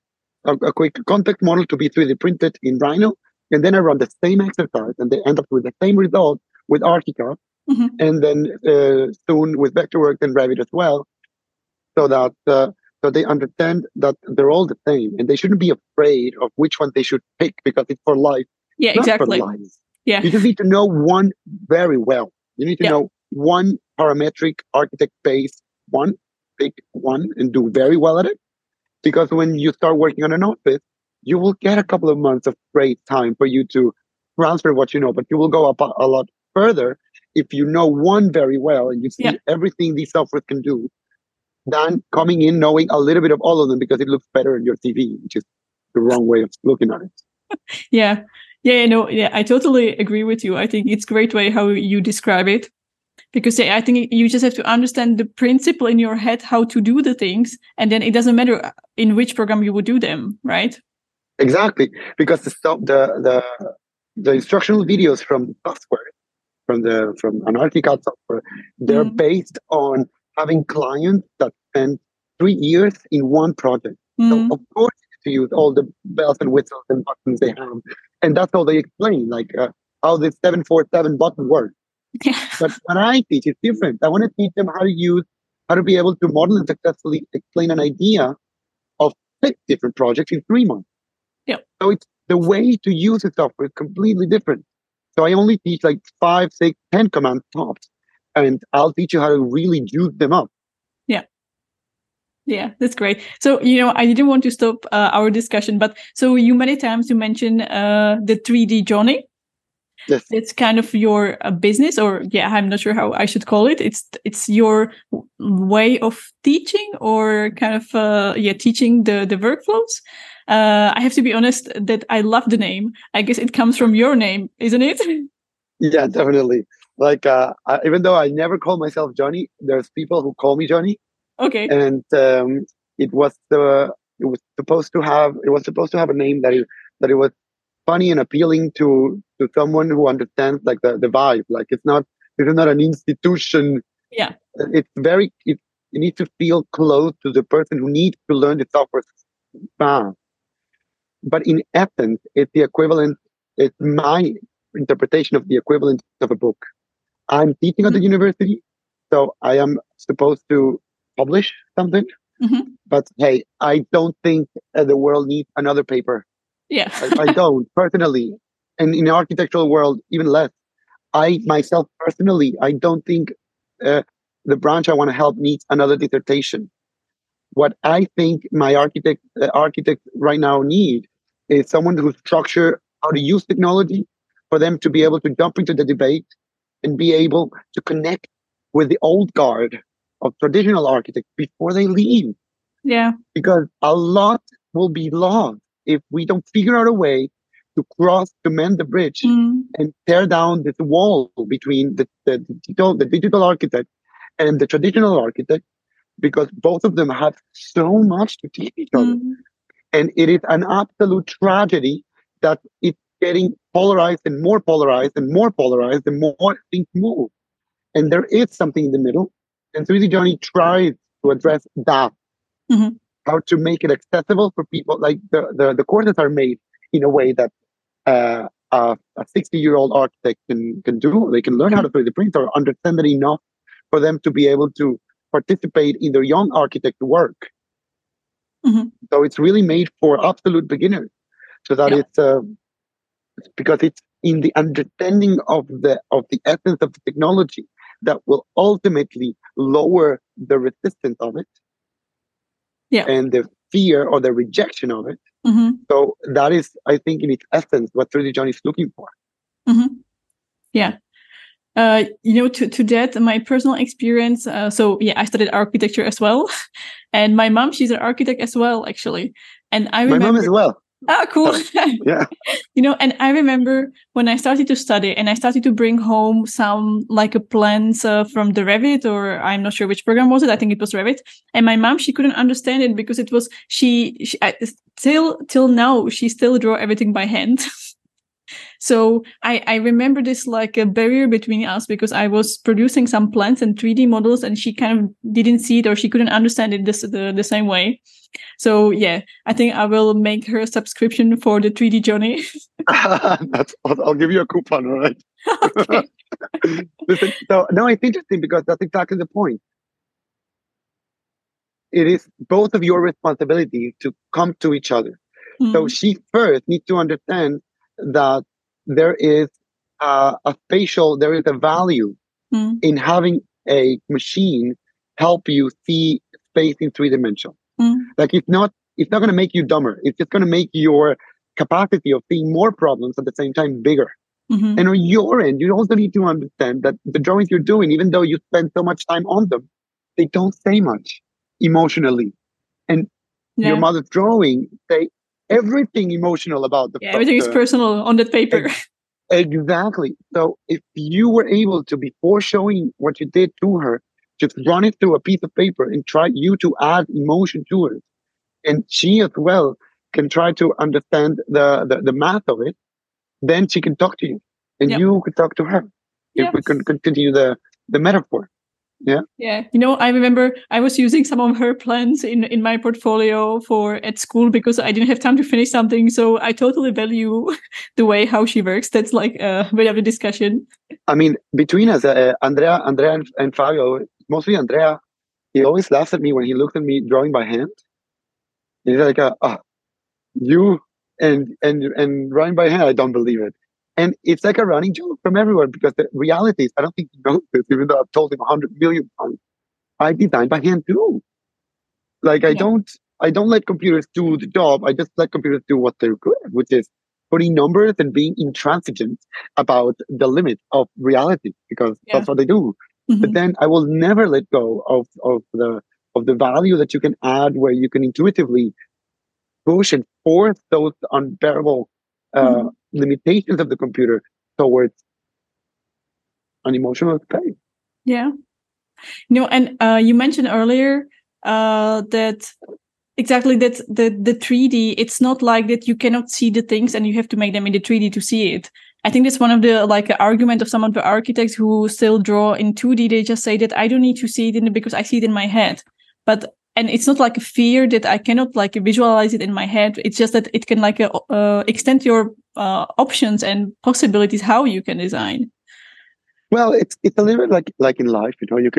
model to be 3D printed in Rhino, and then I run the same exercise, and they end up with the same result with ArchiCAD, and then soon with Vectorworks and Revit as well, so that so they understand that they're all the same, and they shouldn't be afraid of which one they should pick, because it's for life. Yeah, exactly. For life. Yeah. You just need to know one very well. You need to know one parametric architect-based one, pick one, and do very well at it. Because when you start working on an office, you will get a couple of months of great time for you to transfer what you know, but you will go up a lot further if you know one very well and you see everything these softwares can do, than coming in knowing a little bit of all of them because it looks better in your TV, which is the wrong way of looking at it. I totally agree with you. I think it's a great way how you describe it, because I think you just have to understand the principle in your head how to do the things, and then it doesn't matter in which program you would do them, right? Exactly, because the instructional videos from software, from an ArchiCAD software, they're based on having clients that spend 3 years in one project. So of course, to use all the bells and whistles and buttons they have, and that's how they explain, like how the 747 button works. But when I teach, it's different. I want to teach them how to be able to model and successfully explain an idea of 6 different projects in 3 months. So it's the way to use the software is completely different. So I only teach like 5, 6, 10 commands tops, and I'll teach you how to really use them up. Yeah, that's great. So, I didn't want to stop our discussion, but so many times you mentioned the 3D Johnny. Yes. It's kind of your business, or I'm not sure how I should call it. It's your way of teaching, or kind of teaching the workflows. I have to be honest that I love the name. I guess it comes from your name, isn't it? Yeah, definitely. Like, even though I never call myself Johnny, there's people who call me Johnny. Okay. And it was supposed to have a name that it was funny and appealing to someone who understands like the vibe. Like, it's not an institution. Yeah. It's you need to feel close to the person who needs to learn the software fast. But in essence, it's the equivalent. It's my interpretation of the equivalent of a book. I'm teaching at the university, So I am supposed to publish something, but hey, I don't think the world needs another paper. Yeah. I don't personally, and in the architectural world, even less. I myself personally, I don't think the branch I want to help needs another dissertation. What I think my architect right now need is someone who structure how to use technology for them to be able to jump into the debate and be able to connect with the old guard of traditional architects before they leave. Yeah. Because a lot will be lost if we don't figure out a way to mend the bridge and tear down this wall between the digital architect and the traditional architect, because both of them have so much to teach each other. And it is an absolute tragedy that it's getting polarized and more polarized and more polarized and more things move. And there is something in the middle. And 3D Johnny tries to address that, how to make it accessible for people. Like the courses are made in a way that a 60-year-old architect can do. They can learn how to 3D print or understand it enough for them to be able to participate in their young architect work. So it's really made for absolute beginners. So that it's because it's in the understanding of the essence of the technology that will ultimately lower the resistance of it, and the fear or the rejection of it. So that is, I think, in its essence, what 3D Johnny is looking for. Yeah. To that, my personal experience. I studied architecture as well, and my mom, she's an architect as well, actually. And I remember my mom as well. Ah, cool. Yeah. And I remember when I started to study and I started to bring home some plans from the Revit, or I'm not sure which program was it. I think it was Revit. And my mom, she couldn't understand it because it was, till now, she still draw everything by hand. So I remember this like a barrier between us, because I was producing some plans and 3D models and she kind of didn't see it, or she couldn't understand it the same way. So yeah, I think I will make her a subscription for the 3D Johnny. I'll give you a coupon, all right? Okay. Listen, so no, it's interesting because that's exactly the point. It is both of your responsibility to come to each other. So she first needs to understand that there is a value in having a machine help you see space in 3-dimensional. Like it's not going to make you dumber. It's just going to make your capacity of seeing more problems at the same time bigger. And on your end, you also need to understand that the drawings you're doing, even though you spend so much time on them, they don't say much emotionally. And your mother's drawing say everything emotional about the everything is personal on that paper. Exactly. So if you were able to, before showing what you did to her, just run it through a piece of paper and try you to add emotion to it, and she as well can try to understand the math of it, then she can talk to you and you could talk to her. If we can continue the metaphor. Yeah. I remember I was using some of her plans in my portfolio at school because I didn't have time to finish something. So I totally value the way how she works. That's like a bit of a discussion. I mean, between us, Andrea and Fabio, mostly Andrea, he always laughs at me when he looks at me drawing by hand. He's like, you and drawing by hand, I don't believe it. And it's like a running joke from everywhere, because the reality is, I don't think he knows this, even though I've told him 100 million times. I design by hand too. Like I don't let computers do the job. I just let computers do what they're good at, which is putting numbers and being intransigent about the limit of reality, because that's what they do. But then I will never let go of the value that you can add, where you can intuitively push and force those unbearable limitations of the computer towards an emotional space. Yeah. And you mentioned earlier that exactly that the 3D, it's not like that you cannot see the things and you have to make them in the 3D to see it. I think that's one of the argument of some of the architects who still draw in 2D. They just say that I don't need to see it because I see it in my head. And it's not like a fear that I cannot visualize it in my head. It's just that it can extend your options and possibilities how you can design. Well, it's a little bit like in life,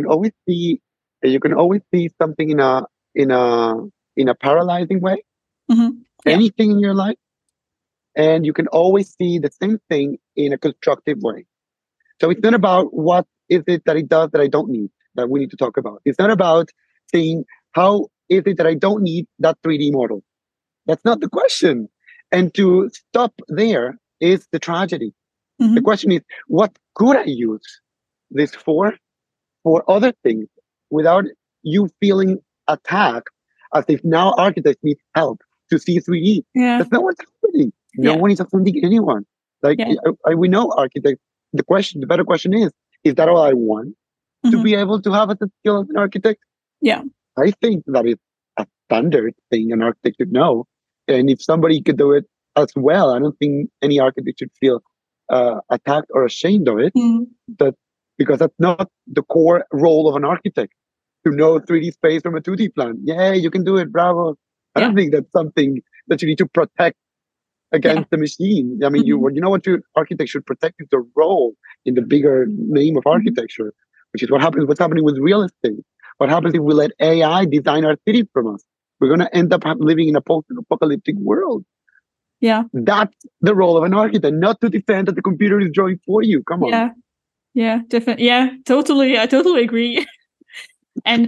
you can always see something in a in a paralyzing way. Yeah. Anything in your life, and you can always see the same thing in a constructive way. So it's not about what is it that it does that I don't need that we need to talk about. It's not about saying how is it that I don't need that 3D model. That's not the question. And to stop there is the tragedy. The Hmm. question is, what could I use this for other things without you feeling attacked as if now architects need help to see 3D. Yeah. That's not what's happening. No Yeah. one is offending anyone. Like Yeah. we know architects. The better question is that all I want to Hmm. be able to have as a skill as an architect? Yeah. I think that is a standard thing an architect should know. And if somebody could do it as well, I don't think any architect should feel attacked or ashamed of it. Mm. That because that's not the core role of an architect to know 3D space from a 2D plan. Yeah, you can do it. Bravo. I Yeah. don't think that's something that you need to protect Yeah. against the machine. I mean, Hmm. you know what your architect should protect is the role in the bigger name of Hmm. architecture, which is what's happening with real estate. What happens if we let AI design our cities from us? We're going to end up living in a post-apocalyptic world. Yeah. That's the role of an architect, not to defend that the computer is drawing for you. Come on. Yeah. Yeah. Definitely. Yeah. Totally. I totally agree. And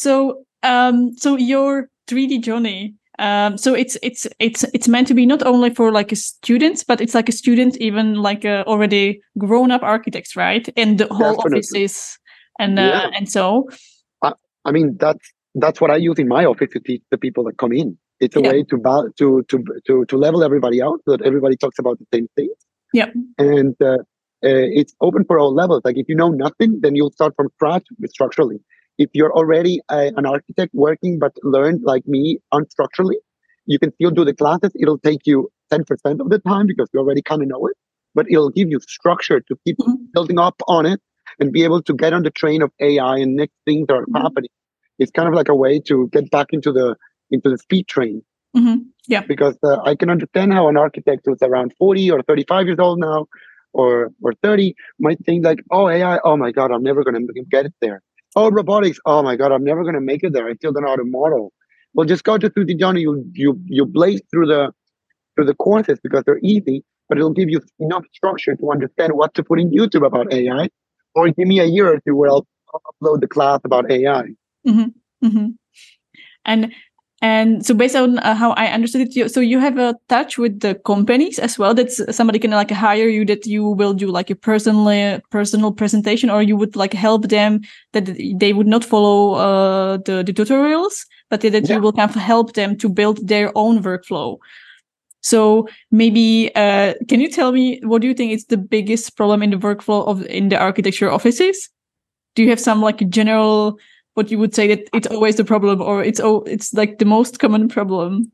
so your 3D journey, so it's meant to be not only for like a students, but it's like a student, even like already grown up architects, right? And the whole Definitely. offices Yeah. and so I, I mean, that's what I use in my office to teach the people that come in. It's a yeah, way to level everybody out so that everybody talks about the same things. yeah, And it's open for all levels. Like if you know nothing, then you'll start from scratch structurally. If you're already an architect working but learned like me unstructurally, you can still do the classes. It'll take you 10% of the time because you already kind of know it, but it'll give you structure to keep mhm, building up on it and be able to get on the train of AI and next things that are mhm, happening. It's kind of like a way to get back into the speed train yeah, because I can understand how an architect who's around 40 or 35 years old now or 30 might think like, oh, AI, oh my God, I'm never going to get it there. Oh, robotics, oh my God, I'm never going to make it there. I still don't know how to model. Well, just go to 3D Johnny. You blaze through the courses because they're easy, but it'll give you enough structure to understand what to put in YouTube about AI, or give me a year or two where I'll upload the class about AI. hmm hmm and so based on how I understood it, so you have a touch with the companies as well. That somebody can like hire you, that you will do like a personal presentation, or you would like help them that they would not follow the tutorials, but that you Yeah. will kind of help them to build their own workflow. So maybe can you tell me what do you think is the biggest problem in the workflow of in the architecture offices? Do you have some like general what you would say that it's always the problem, or it's like the most common problem?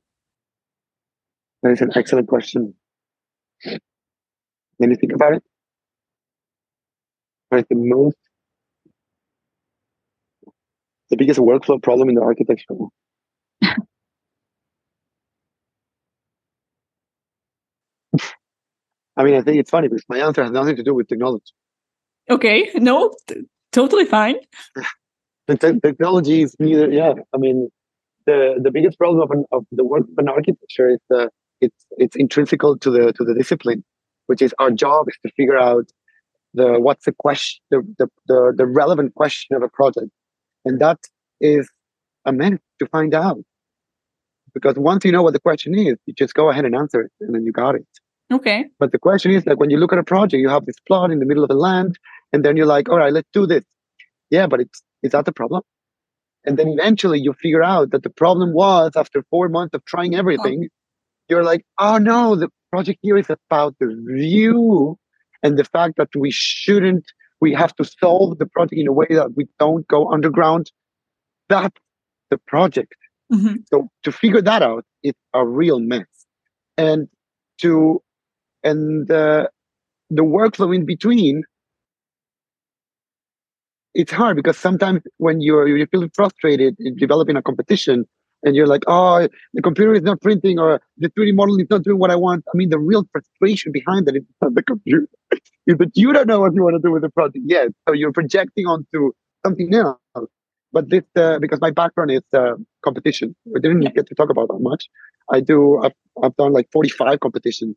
That is an excellent question. When you think about it, what is the biggest workflow problem in the architecture? I mean, I think it's funny because my answer has nothing to do with technology. Okay, no, totally fine. Technology is neither. Yeah, I mean, the biggest problem of the work of an architecture is it's intrinsical to the discipline, which is our job is to figure out what's the question, the relevant question of a project, and that is a minute to find out. Because once you know what the question is, you just go ahead and answer it, and then you got it. Okay. But the question is like when you look at a project, you have this plot in the middle of the land, and then you're like, all right, let's do this. Yeah, but is that the problem? And then eventually you figure out that the problem was after 4 months of trying Oh. everything, you're like, oh no, the project here is about the view and the fact that we have to solve the project in a way that we don't go underground. That's the project. Mm-hmm. So to figure that out, it's a real mess. And to and the workflow in between, it's hard because sometimes when you're feeling frustrated in developing a competition, and you're like, oh, the computer is not printing, or the 3D model is not doing what I want. I mean, the real frustration behind that is not the computer, is that you don't know what you want to do with the project yet. So you're projecting onto something else. But this, because my background is competition, we didn't Yeah. get to talk about that much. I've done like 45 competitions,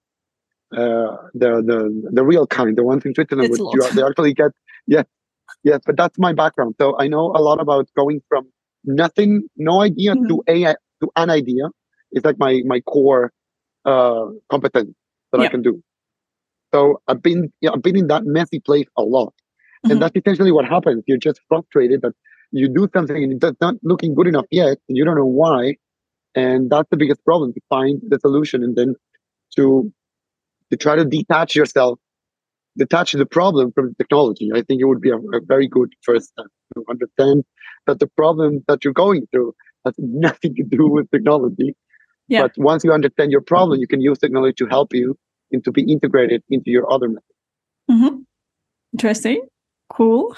the real kind, the ones in Switzerland, That's a which lot. they actually get. Yeah, yes, but that's my background. So I know a lot about going from nothing, no idea, Mhm. to an idea. It's like my core competence that I Yeah. can do. So I've been in that messy place a lot, and Mhm. that's essentially what happens. You're just frustrated that you do something and it's not looking good enough yet, and you don't know why. And that's the biggest problem, to find the solution and then to try to detach the problem from the technology. I think it would be a very good first step to understand that the problem that you're going through has nothing to do with technology. Yeah. But once you understand your problem, you can use technology to help you and to be integrated into your other methods. Mhm. Interesting. Cool.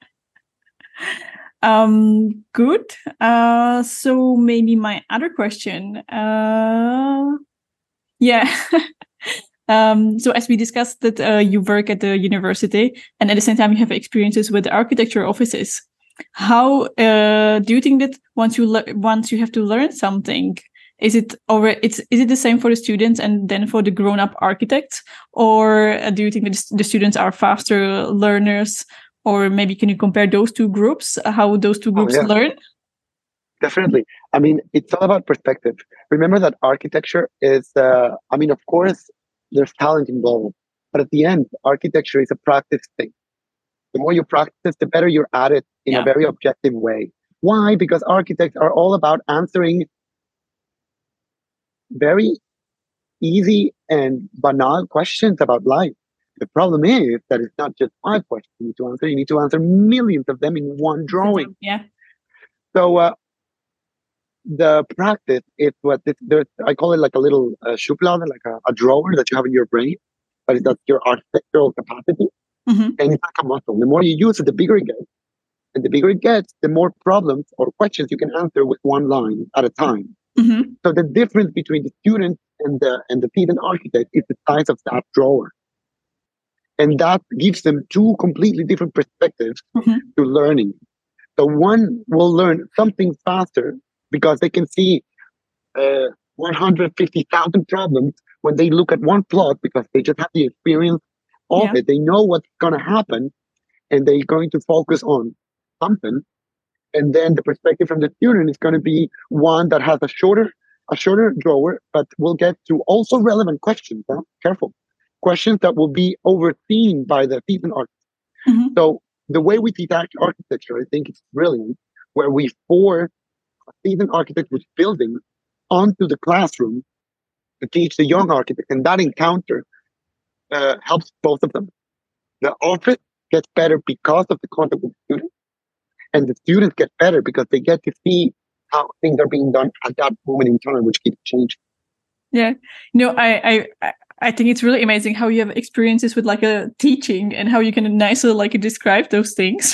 Good. So maybe my other question. Yeah. So as we discussed that you work at the university and at the same time you have experiences with the architecture offices. How do you think that once you have to learn something, is it the same for the students and then for the grown-up architects, or do you think that the students are faster learners, or maybe can you compare those two groups, how those two Oh groups yeah, learn? definitely. I mean, it's all about perspective. Remember that architecture is, I mean, of course, there's talent involved, but at the end, architecture is a practice thing. The more you practice, the better you're at it in a Yeah. very objective way. Why? Because architects are all about answering very easy and banal questions about life. The problem is that it's not just five questions you need to answer. You need to answer millions of them in one drawing. Yeah. So the practice is what there's. I call it like a little schublade, like a drawer that you have in your brain. But that's your architectural capacity, Mm-hmm. and it's like a muscle. The more you use it, the bigger it gets. And the bigger it gets, the more problems or questions you can answer with one line at a time. Mm-hmm. So the difference between the student and the seasoned architect is the size of that drawer. And that gives them two completely different perspectives Mm-hmm. to learning. So one will learn something faster because they can see 150,000 problems when they look at one plot, because they just have the experience of Yeah. it. They know what's going to happen, and they're going to focus on something. And then the perspective from the student is going to be one that has a shorter drawer, but will get to also relevant questions. Huh? Careful. Questions that will be overseen by the seasoned architect. Mm-hmm. So the way we teach architecture, I think it's brilliant, where we force a seasoned architect who's building onto the classroom to teach the young architect. And that encounter helps both of them. The office gets better because of the contact with the student, and the students get better because they get to see how things are being done at that moment in time, which keeps changing. Yeah. No, I think it's really amazing how you have experiences with like a teaching and how you can nicely like describe those things.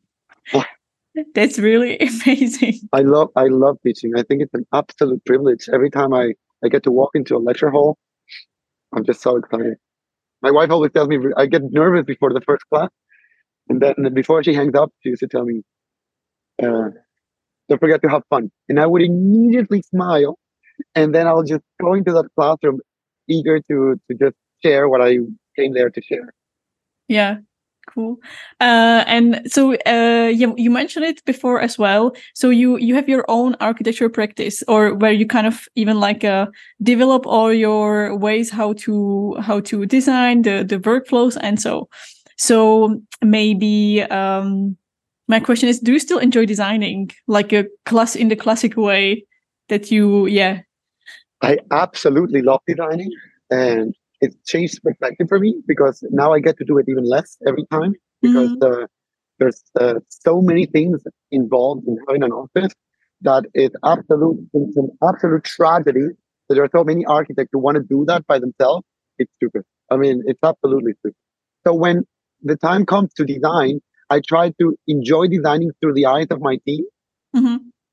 That's really amazing. I love teaching. I think it's an absolute privilege. Every time I get to walk into a lecture hall, I'm just so excited. My wife always tells me I get nervous before the first class, and then before she hangs up, she used to tell me, uh, "Don't forget to have fun." And I would immediately smile, and then I'll just go into that classroom, eager to just share what I came there to share. Yeah. Cool. And so you mentioned it before as well. So you have your own architecture practice, or where you kind of even like develop all your ways how to design the workflows and so. So maybe my question is, do you still enjoy designing like a class in the classic way that you I absolutely love designing, and it changed perspective for me because now I get to do it even less every time, because Mm-hmm. there's so many things involved in having an office that it's an absolute tragedy that there are so many architects who want to do that by themselves. It's stupid. I mean, it's absolutely stupid. So when the time comes to design, I try to enjoy designing through the eyes of my team, Mm-hmm.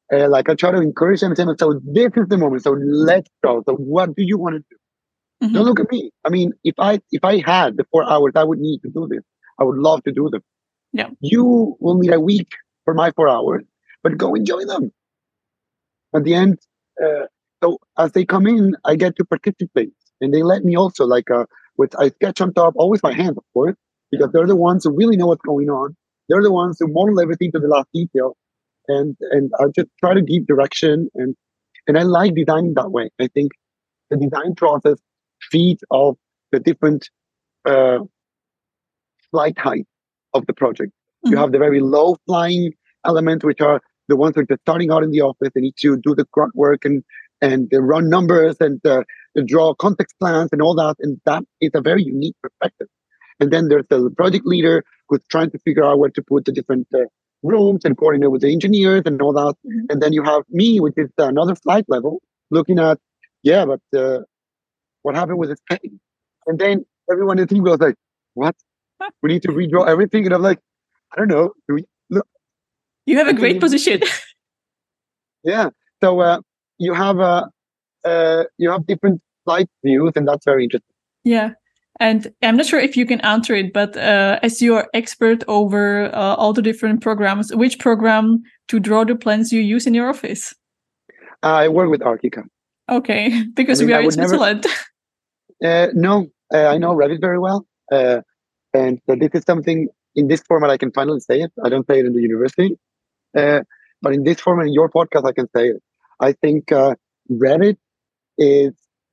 Like I try to encourage them, saying, so this is the moment. So let's go. So what do you want to do? Don't look at me. I mean, if I had the 4 hours I would need to do this, I would love to do them. Yeah. You will need a week for my 4 hours, but go enjoy them. At the end, so as they come in, I get to participate, and they let me also with I sketch on top, always by hand, of course, because they're the ones who really know what's going on. They're the ones who model everything to the last detail, and I just try to give direction, and I like designing that way. I think the design process feeds off the different uh, flight height of the project. You have the very low flying elements, which are the ones that are starting out in the office. They need to do the grunt work and run numbers and draw context plans and all that. And that is a very unique perspective. And then there's the project leader who's trying to figure out where to put the different rooms and coordinate with the engineers and all that. And then you have me, which is another flight level, looking at, but what happened with this painting? And then everyone in the team goes like, what? We need to redraw everything. And I'm like, I don't know. Look. You have a great position. Yeah. So you have different flight views, and that's very interesting. Yeah. And I'm not sure if you can answer it, but as you're expert over all the different programs, which program to draw the plans you use in your office? I work with Archicad. Okay, because we are in Switzerland. No, I know Revit very well. And this is something in this format I can finally say it. I don't say it in the university. But in this format, in your podcast, I can say it. I think Revit is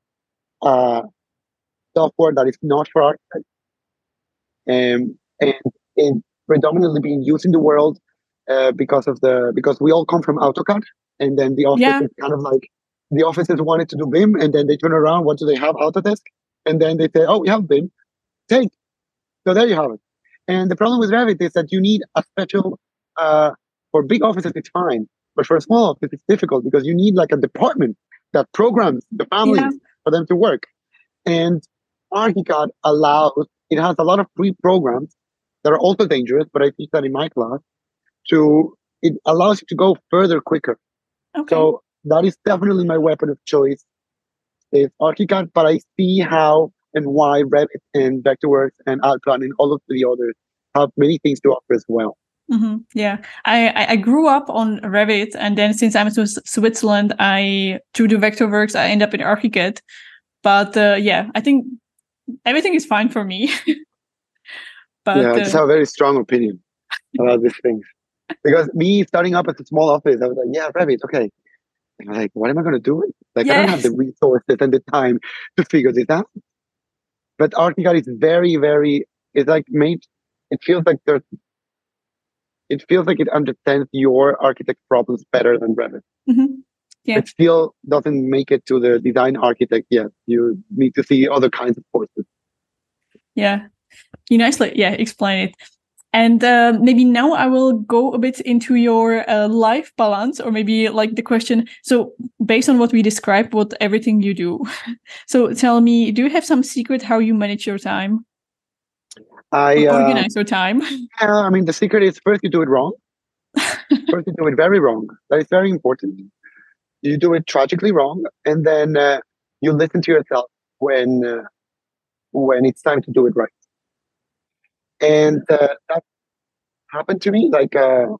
software that is not for architects. And it's predominantly being used in the world because we all come from AutoCAD, and then the office is kind of like the offices wanted to do BIM, and then they turn around, what do they have? Autodesk, and then they say, oh, we have BIM, take. So there you have it. And the problem with Revit is that you need a special for big offices it's fine, but for a small office it's difficult because you need like a department that programs the families for them to work. And Archicad it has a lot of pre-programs that are also dangerous, but I teach that in my class. It allows you to go further quicker. Okay. So that is definitely my weapon of choice is Archicad, but I see how and why Revit and Vectorworks and Allplan and all of the others have many things to offer as well. Mm-hmm. Yeah, I grew up on Revit, and then since I'm in Switzerland, to do Vectorworks, I end up in Archicad. But I think everything is fine for me. But I just have a very strong opinion about these things. Because me starting up at a small office, I was like, Revit, okay. And I'm like, what am I going to do? Like, I don't have the resources and the time to figure this out. But Archicad is very, very, it's like it feels like it understands your architect problems better than Revit. Mm-hmm. Yeah. It still doesn't make it to the design architect yet. You need to see other kinds of courses. Yeah. You nicely, explain it. And maybe now I will go a bit into your life balance, or maybe like the question. So based on what we described, what everything you do. So tell me, do you have some secret how you manage your time? I organize your time. I mean, the secret is first you do it wrong. First you do it very wrong. That is very important. You do it tragically wrong, and then you listen to yourself when it's time to do it right. And that happened to me. Like, no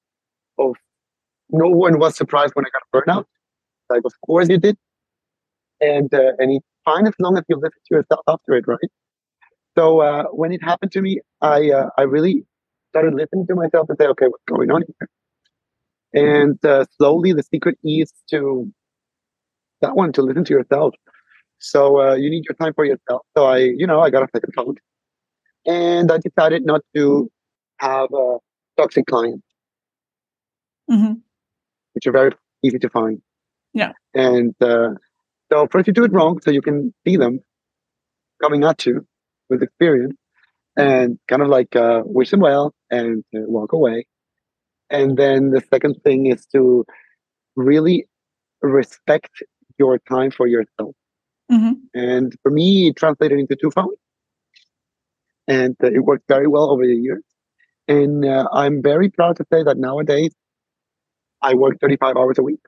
one was surprised when I got a burnout. Like, of course you did. And it's fine as long as you listen to yourself after it, right? So when it happened to me, I really started listening to myself and say, okay, what's going on here? And slowly the secret is to listen to yourself. So you need your time for yourself. So I got a second phone, and I decided not to have toxic clients, which are very easy to find. Yeah. And so first you do it wrong, so you can see them coming at you with experience, and kind of like wish them well and walk away. And then the second thing is to really respect your time for yourself. And for me, it translated into 2 phones. And it worked very well over the years. And I'm very proud to say that nowadays, I work 35 hours a week.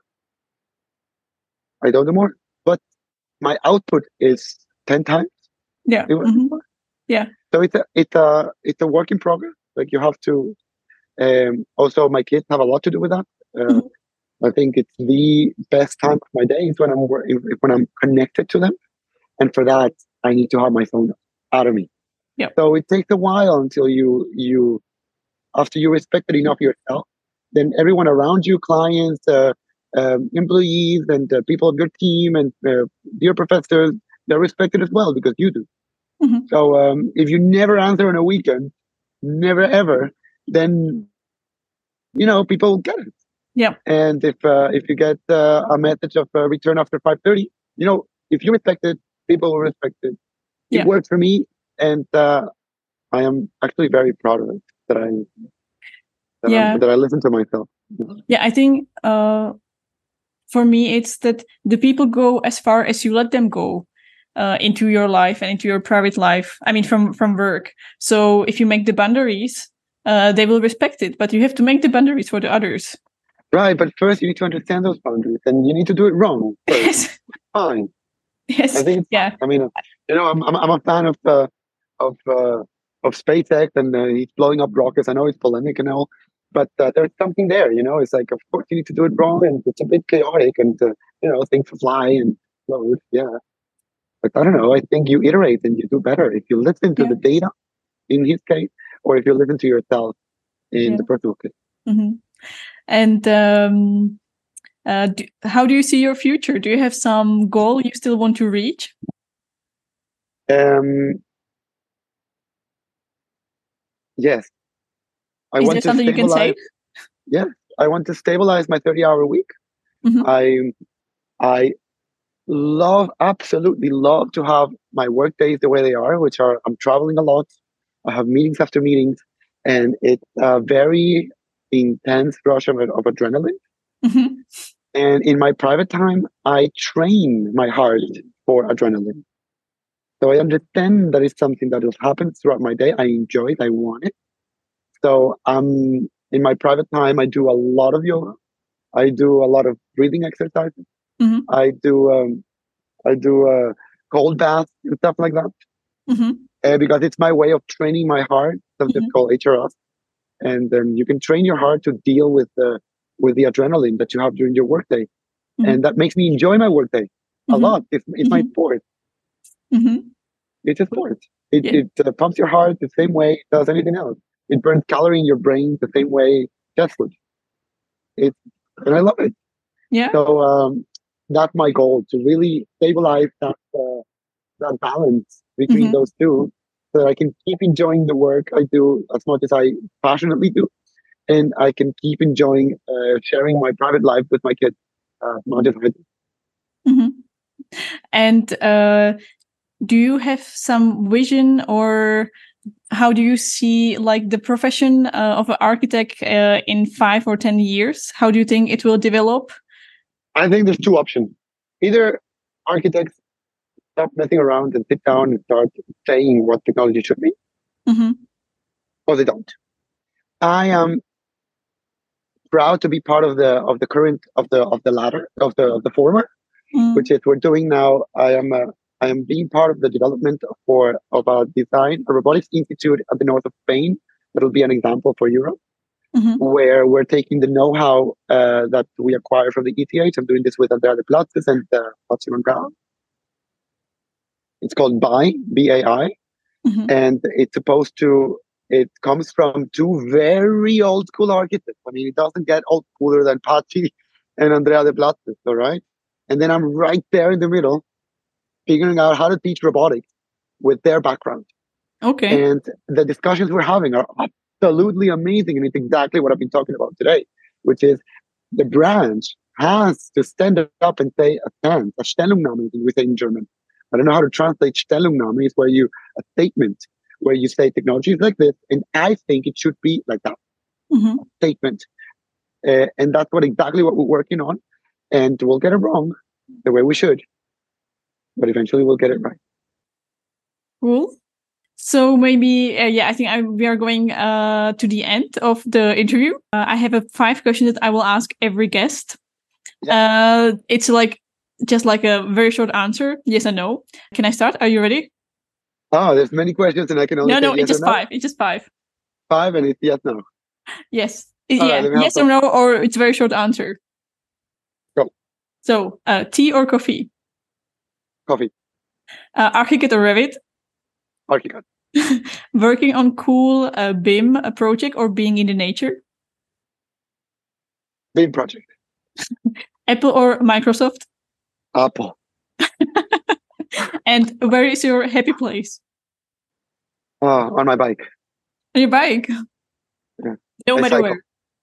I don't do more, but my output is 10 times. Yeah. Yeah. So it's a work in progress. Like you have to. Also, my kids have a lot to do with that. I think it's the best time of my day is when I'm connected to them, and for that I need to have my phone out of me. Yeah. So it takes a while until you after you respect it enough yourself, then everyone around you, clients, employees, and people of your team, and your professors, they're respected as well because you do. So if you never answer on a weekend, never ever, then people get it. Yeah. And if you get a message of return after 5:30, if you respect it, people will respect it. It works for me, and I am actually very proud of it that I listen to myself. Yeah, I think for me it's that the people go as far as you let them go into your life and into your private life. I mean, from work. So if you make the boundaries, they will respect it. But you have to make the boundaries for the others. Right, but first you need to understand those boundaries, and you need to do it wrong first. Yes. Fine. Yes. I think. Yeah. I mean, I'm a fan of SpaceX, and he's blowing up rockets. I know it's polemic and all, but there's something there. It's like, of course, you need to do it wrong, and it's a bit chaotic, and things fly and explode. Yeah, but I don't know. I think you iterate and you do better if you listen to the data, in his case, or if you listen to yourself in the personal case. And how do you see your future? Do you have some goal you still want to reach? Yes. Is there something you can say? Yeah, I want to stabilize my 30-hour week. I absolutely love to have my work days the way they are, which are I'm traveling a lot. I have meetings after meetings, and it's a very intense rush of adrenaline. And in my private time, I train my heart for adrenaline. So I understand that it's something that will happen throughout my day. I enjoy it. I want it. So in my private time, I do a lot of yoga. I do a lot of breathing exercises. I do cold baths and stuff like that. Because it's my way of training my heart. Something called HRS, and then you can train your heart to deal with the adrenaline that you have during your workday, and that makes me enjoy my workday a lot. It's my sport. It's a sport. It pumps your heart the same way it does anything else. It burns calorie in your brain the same way jet food. And I love it. Yeah. So that's my goal, to really stabilize that balance between those two, so that I can keep enjoying the work I do as much as I passionately do, and I can keep enjoying sharing my private life with my kids, not just with. And do you have some vision, or how do you see like the profession of an architect in 5 or 10 years? How do you think it will develop? I think there's two options. Either architects stop messing around and sit down and start saying what technology should be, or they don't. I am proud to be part of the current of the latter of the former, which is we're doing now. I am being part of the development of a robotics institute at the north of Spain. That'll be an example for Europe, where we're taking the know-how that we acquire from the ETH. I'm doing this with Andrea de Platzes and Patsy Brown. It's called BAI, B-A-I, and it comes from two very old school architects. I mean, it doesn't get old cooler than Patsy and Andrea de Platzes, all right? And then I'm right there in the middle, figuring out how to teach robotics with their background. Okay. And the discussions we're having are absolutely amazing. And it's exactly what I've been talking about today, which is the branch has to stand up and say a Stellungnahme, we say in German. I don't know how to translate Stellungnahme. It's a statement where you say technology is like this, and I think it should be like that. Statement. And that's exactly what we're working on. And we'll get it wrong the way we should, but eventually we'll get it right. Cool. So maybe, I think we are going to the end of the interview. I have 5 questions that I will ask every guest. Yeah. It's just like a very short answer, yes or no. Can I start? Are you ready? Oh, there's many questions and I can only say no, yes it's just or no? 5. It's just 5. 5 and it's yes, no. Yes. Right, yes or no, or it's a very short answer. Go. So, tea or coffee? Coffee. ArchiCAD or Revit? ArchiCAD. Working on cool BIM project or being in the nature? BIM project. Apple or Microsoft? Apple. And where is your happy place? On my bike. On your bike? Yeah. No matter where.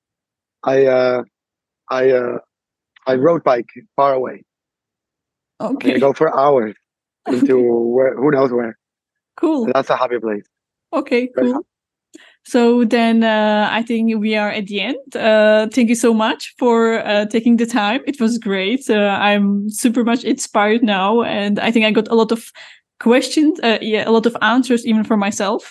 I road bike far away. Okay. I go for hours into who knows where. Cool. And that's a happy place. Okay, cool. So then I think we are at the end. Thank you so much for taking the time. It was great. I'm super much inspired now. And I think I got a lot of questions, a lot of answers even for myself.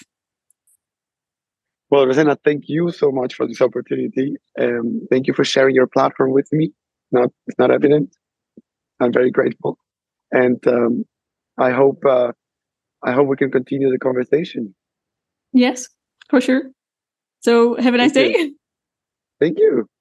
Well, Rosanna, thank you so much for this opportunity. Thank you for sharing your platform with me. It's not evident. I'm very grateful. And I hope we can continue the conversation. Yes, for sure. So have a nice day. Thank you.